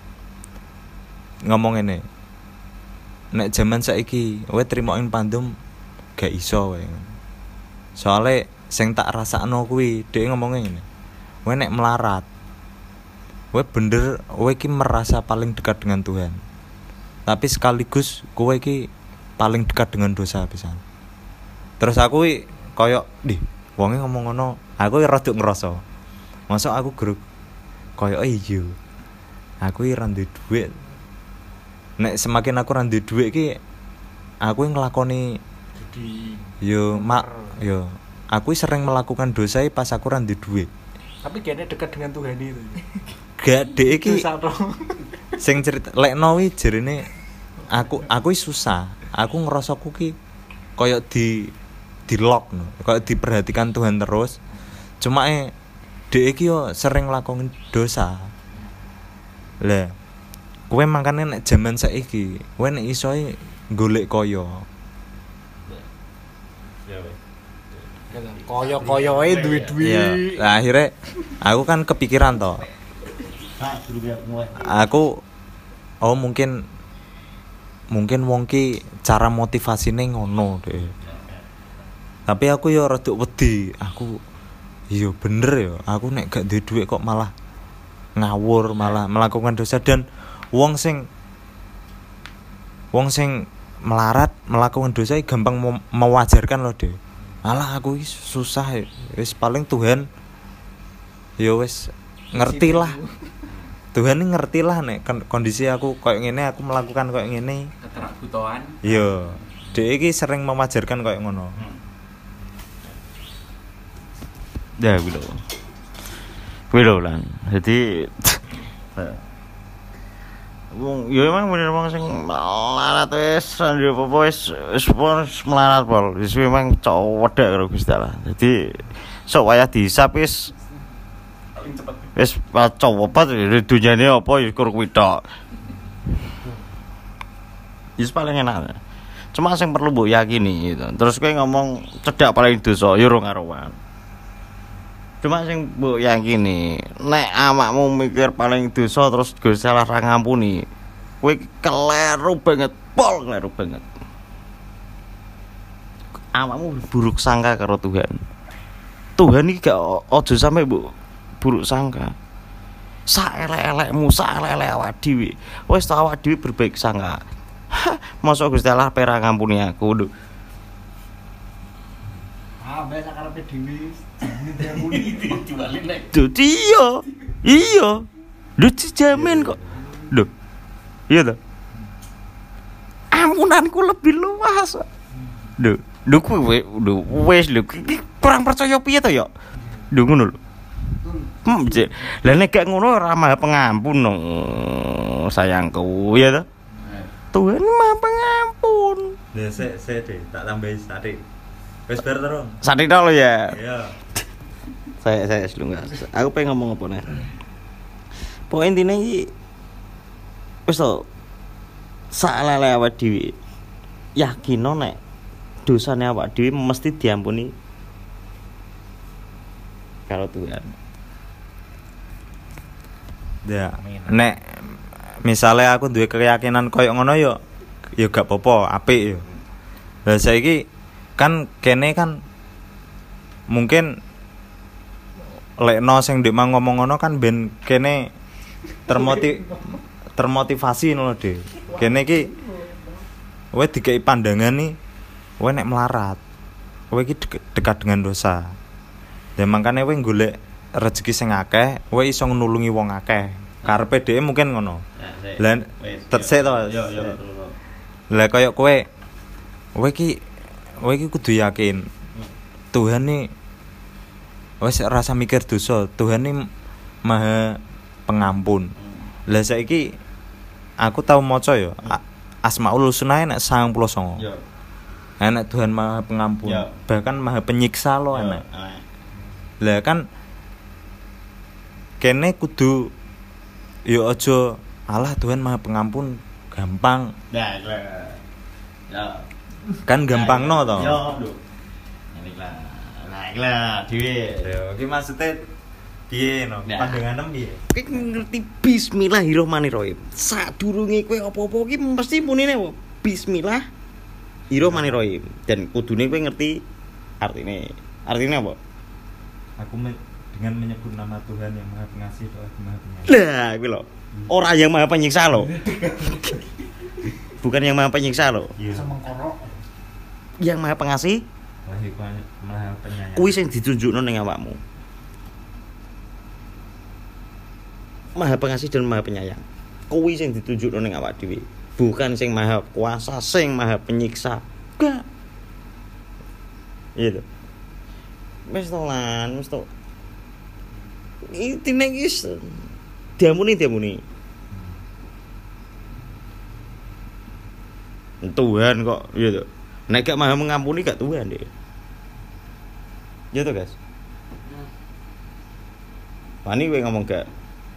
Ngomong ngene. Nek jaman saiki kowe trimoin pandum gak iso wae. Soale sing tak rasakno kuwi dhek ngomongnya ngene. Kowe nek melarat kowe bener kowe iki merasa paling dekat dengan Tuhan. Tapi sekaligus kowe iki paling dekat dengan dosa pisan. Terus aku koyo wonge ngomong ngono, aku rada ngerasa. Masa aku gruk koyo iya. Aku ora ndek dhuwit. Nek semakin aku ora ndek dhuwit iki aku nglakoni yo aku sering melakukan dosa pas aku ora ndek dhuwit. Tapi kayaknya dekat dengan Tuhan itu. Gak dek iki. Sing cerita Lekno wi jerene aku susah. Aku ngerasa ki koyo di lock no. Koyo diperhatikan Tuhan terus. Cuma dek iki yo sering lakoni dosa. Lah, kowe mangkane nek jaman saiki, kowe nek iso golek kaya. Koyo-koyoe duwe-duwe. Iya. Lah akhirnya aku kan kepikiran toh. Aku mungkin wong ki cara motivasine ngono deh. Tapi aku yo rada wedi. Aku iya bener ya. Aku nek gak duwe dhuwit kok malah ngawur, malah melakukan dosa. Dan wong sing melarat melakukan dosa gampang mewajarkan loh deh. Alah aku susah ya. Wis paling Tuhan ya wis ngertilah. Tuhan ini ngertilah nek kondisi aku koyo ngene, aku melakukan koyo ngene. Keterabutoan. Iya. Dhek iki sering mewajarkan koyo ngono. Ya kuwi lho lan. Jadi wong ya emang bener wong sing melarat wis ndek apa wis melarat pol. Wis memang cowok wedek karo Gusti Allah. Jadi sok wayah dihisap wis paling cepet. Wis cowok apa dunyane apa ya kur kuwi tok. Wis paling enak. Cuma sing perlu mbok yakini gitu. Terus kowe ngomong cedak paling dosa ya ora karuan. Cuma sing mbok yakini nek awakmu mikir paling dosa terus Gusti Allah ra ngampuni, kowe keliru banget, keliru banget. Awakmu buruk sangka karo Tuhan. Tuhan iki gak aja sampe mbok buruk sangka. Saelek-elekmu, saelek awak dhewe. Wis ta awak dhewe berbaik sangka. Mosok Gusti Allah pera ngampuni aku lho. Mbak sakarepe dhewe Dadi iya. Lho dijamin kok. Lho. Iya ta? Ampunanku lebih luas. Lho kuwi wis lho kurang percaya piye to ya? Lho ngono lho. Lah nek gak ngono ora Maha Pengampun dong. Sayangku ya toh. Tuhan Maha Pengampun. Ya sik deh, tak tambahi sate. Wis bar terus. Sate tok lo ya. Iya. Saya enggak. Aku pengen ngomong apa nih? Pokoknya intinya iki wis to salele awak dhewe. Yakino nek dosane awak dhewe mesti diampuni karo Tuhan. Ya, nek misalnya aku duwe keyakinan koyo ngono yo gak apa-apa, apik yo. Lah saiki kan kene kan mungkin lekno sing ndek mang ngomong ngono kan ben kene termotivasi ngono Dik. Kene iki kowe dikei pandangan nih kowe nek melarat. Kowe iki dekat dengan dosa. Ya makane kowe golek rezeki sing akeh, kowe iso nulungi wong akeh. Karepe dhewe mungkin ngono. Lah tersik to. Yo. Lah koyo kowe iki kudu yakin Tuhan nih wis rasa mikir dosa, Tuhan nih Maha Pengampun. Lah saiki aku tau maca ya Asmaul Husna nek 99. Yo. Enak Tuhan Maha Pengampun, bahkan Maha Penyiksa lo enak. Lah kan kene kudu yo aja Allah Tuhan Maha Pengampun gampang. Ya. Kan gampang no to. Yo, lho. Nah, dhewe. Yo iki maksude piye no? Nah. Pandanganem piye? Kowe ngerti Bismillahirrahmanirrahim. Sadurunge kowe apa-apa iki mesti munine apa? Bismillahirrahmanirrahim. Dan kudune kowe ngerti artine. Artine apa? Aku dengan menyebut nama Tuhan yang Maha Pengasih dan Maha Penyayang. Lah, kuwi lho. Ora yang Maha Penyiksa lho. Bukan yang Maha Penyiksa lho. Iya. Yang Maha Pengasih Maha Penyayang. kuwi sing ditunjukno ning awakmu. Maha Pengasih dan Maha Penyayang. Kuwi sing ditunjukno ning awak dhewe. Bukan sing Maha Kuasa, sing Maha Penyiksa. Enggak. Iya lho. Wis to lan, wis to. Intine iki diampuni. Tuhan kok, iya to. Nek gak Maha mengampuni gak Tuhan deh. Ya to, guys. Wani kowe ngomong gak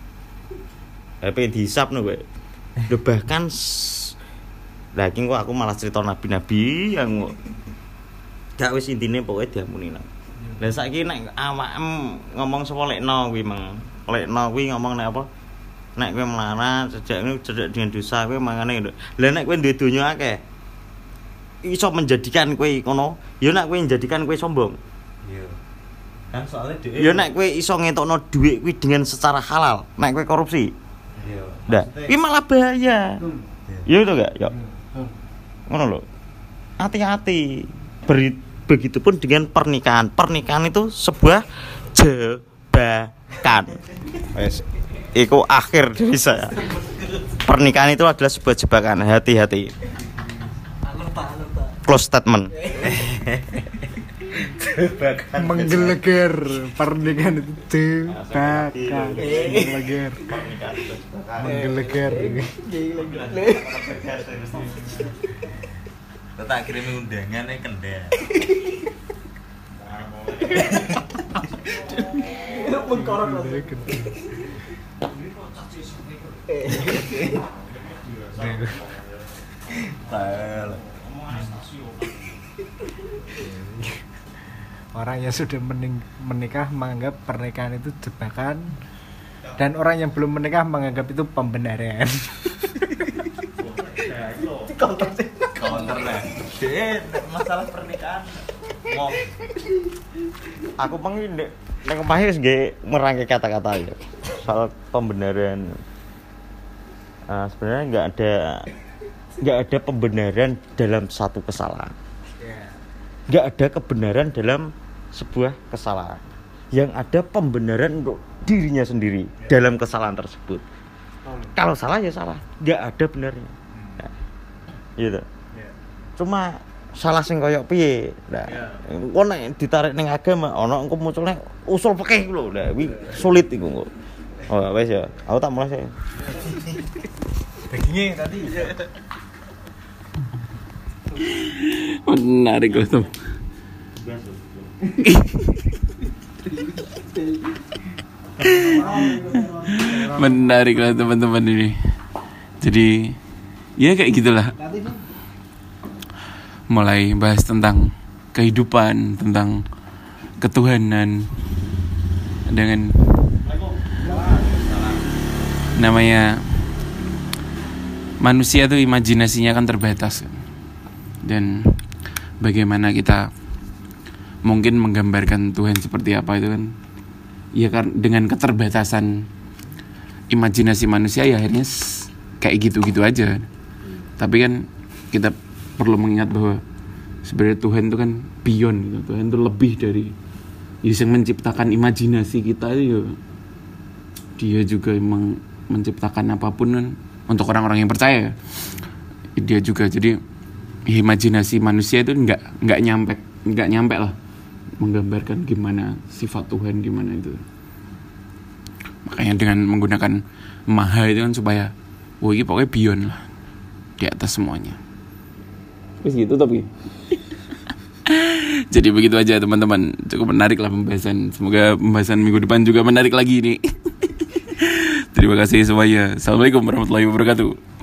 HP dihisapno kowe. Lho bahkan lah iki kok aku malah cerita nabi-nabi yang gak wis intine pokoke diampuni nang. Lah saiki nek awakmu ngomong sapa lekno kuwi mang. Lekno kuwi ngomong nek apa? Nek kowe melarat cedhak dengan dosa kowe mangane. Lah nek kowe duwe donya akeh iso menjadikan kowe ngono, ya nek kowe menjadikan kowe sombong. Iya. Kan soalnya dhewe. Ya nek kowe iso ngetokno dhuwit kuwi dengan secara halal, nek kowe korupsi. Iya. Nah, kuwi malah bahaya. Ya itu gak? Ya. Ngono lho. Hati-hati. Begitupun dengan pernikahan. Pernikahan itu sebuah jebakan. Wes. Iku akhir dari saya. Pernikahan itu adalah sebuah jebakan. Hati-hati. Close statement. Menggeleger pernikahan itu jebakan. Menggeleger. Tak kirim undangan kendel. Orang yang sudah menikah menganggap pernikahan itu jebakan, dan orang yang belum menikah menganggap itu pembenaran. Counter lah. Masalah pernikahan. Aku pengen nek omahe wis nggih merangkai kata-kata ya. Soal pembenaran. Sebenarnya enggak ada pembenaran dalam satu kesalahan. Enggak ada kebenaran dalam sebuah kesalahan. Yang ada pembenaran untuk dirinya sendiri dalam kesalahan tersebut. Kalau salah ya salah, enggak ada benarnya. Nah, gitu. Cuma salah sing koyo piye. Nah, engko nek ditarik ning agama ana engko munculnya usul fikih lho. Lah kuwi sulit iku engko. Oh, wes ya. Aku tak mulai sih. Dagingnya tadi. Menarik loh tuh. Menarik lah teman-teman ini. Jadi ya kayak gitulah. Mulai bahas tentang kehidupan, tentang ketuhanan, dengan namanya manusia tuh imajinasinya kan terbatas, dan bagaimana kita mungkin menggambarkan Tuhan seperti apa itu kan ya kan dengan keterbatasan imajinasi manusia ya akhirnya kayak gitu-gitu aja. Tapi kan kita perlu mengingat bahwa sebenarnya Tuhan itu kan beyond gitu. Tuhan itu lebih dari yang menciptakan imajinasi kita itu. Dia juga emang menciptakan apapun kan untuk orang-orang yang percaya. Dia juga jadi imajinasi manusia itu nggak nyampe lah menggambarkan gimana sifat Tuhan, gimana itu. Makanya dengan menggunakan maha itu kan supaya ini pokoknya beyond lah, di atas semuanya. Terus gitu tapi jadi begitu aja teman-teman. Cukup menarik lah pembahasan. Semoga pembahasan minggu depan juga menarik lagi nih. Terima kasih semuanya. Assalamualaikum warahmatullahi wabarakatuh.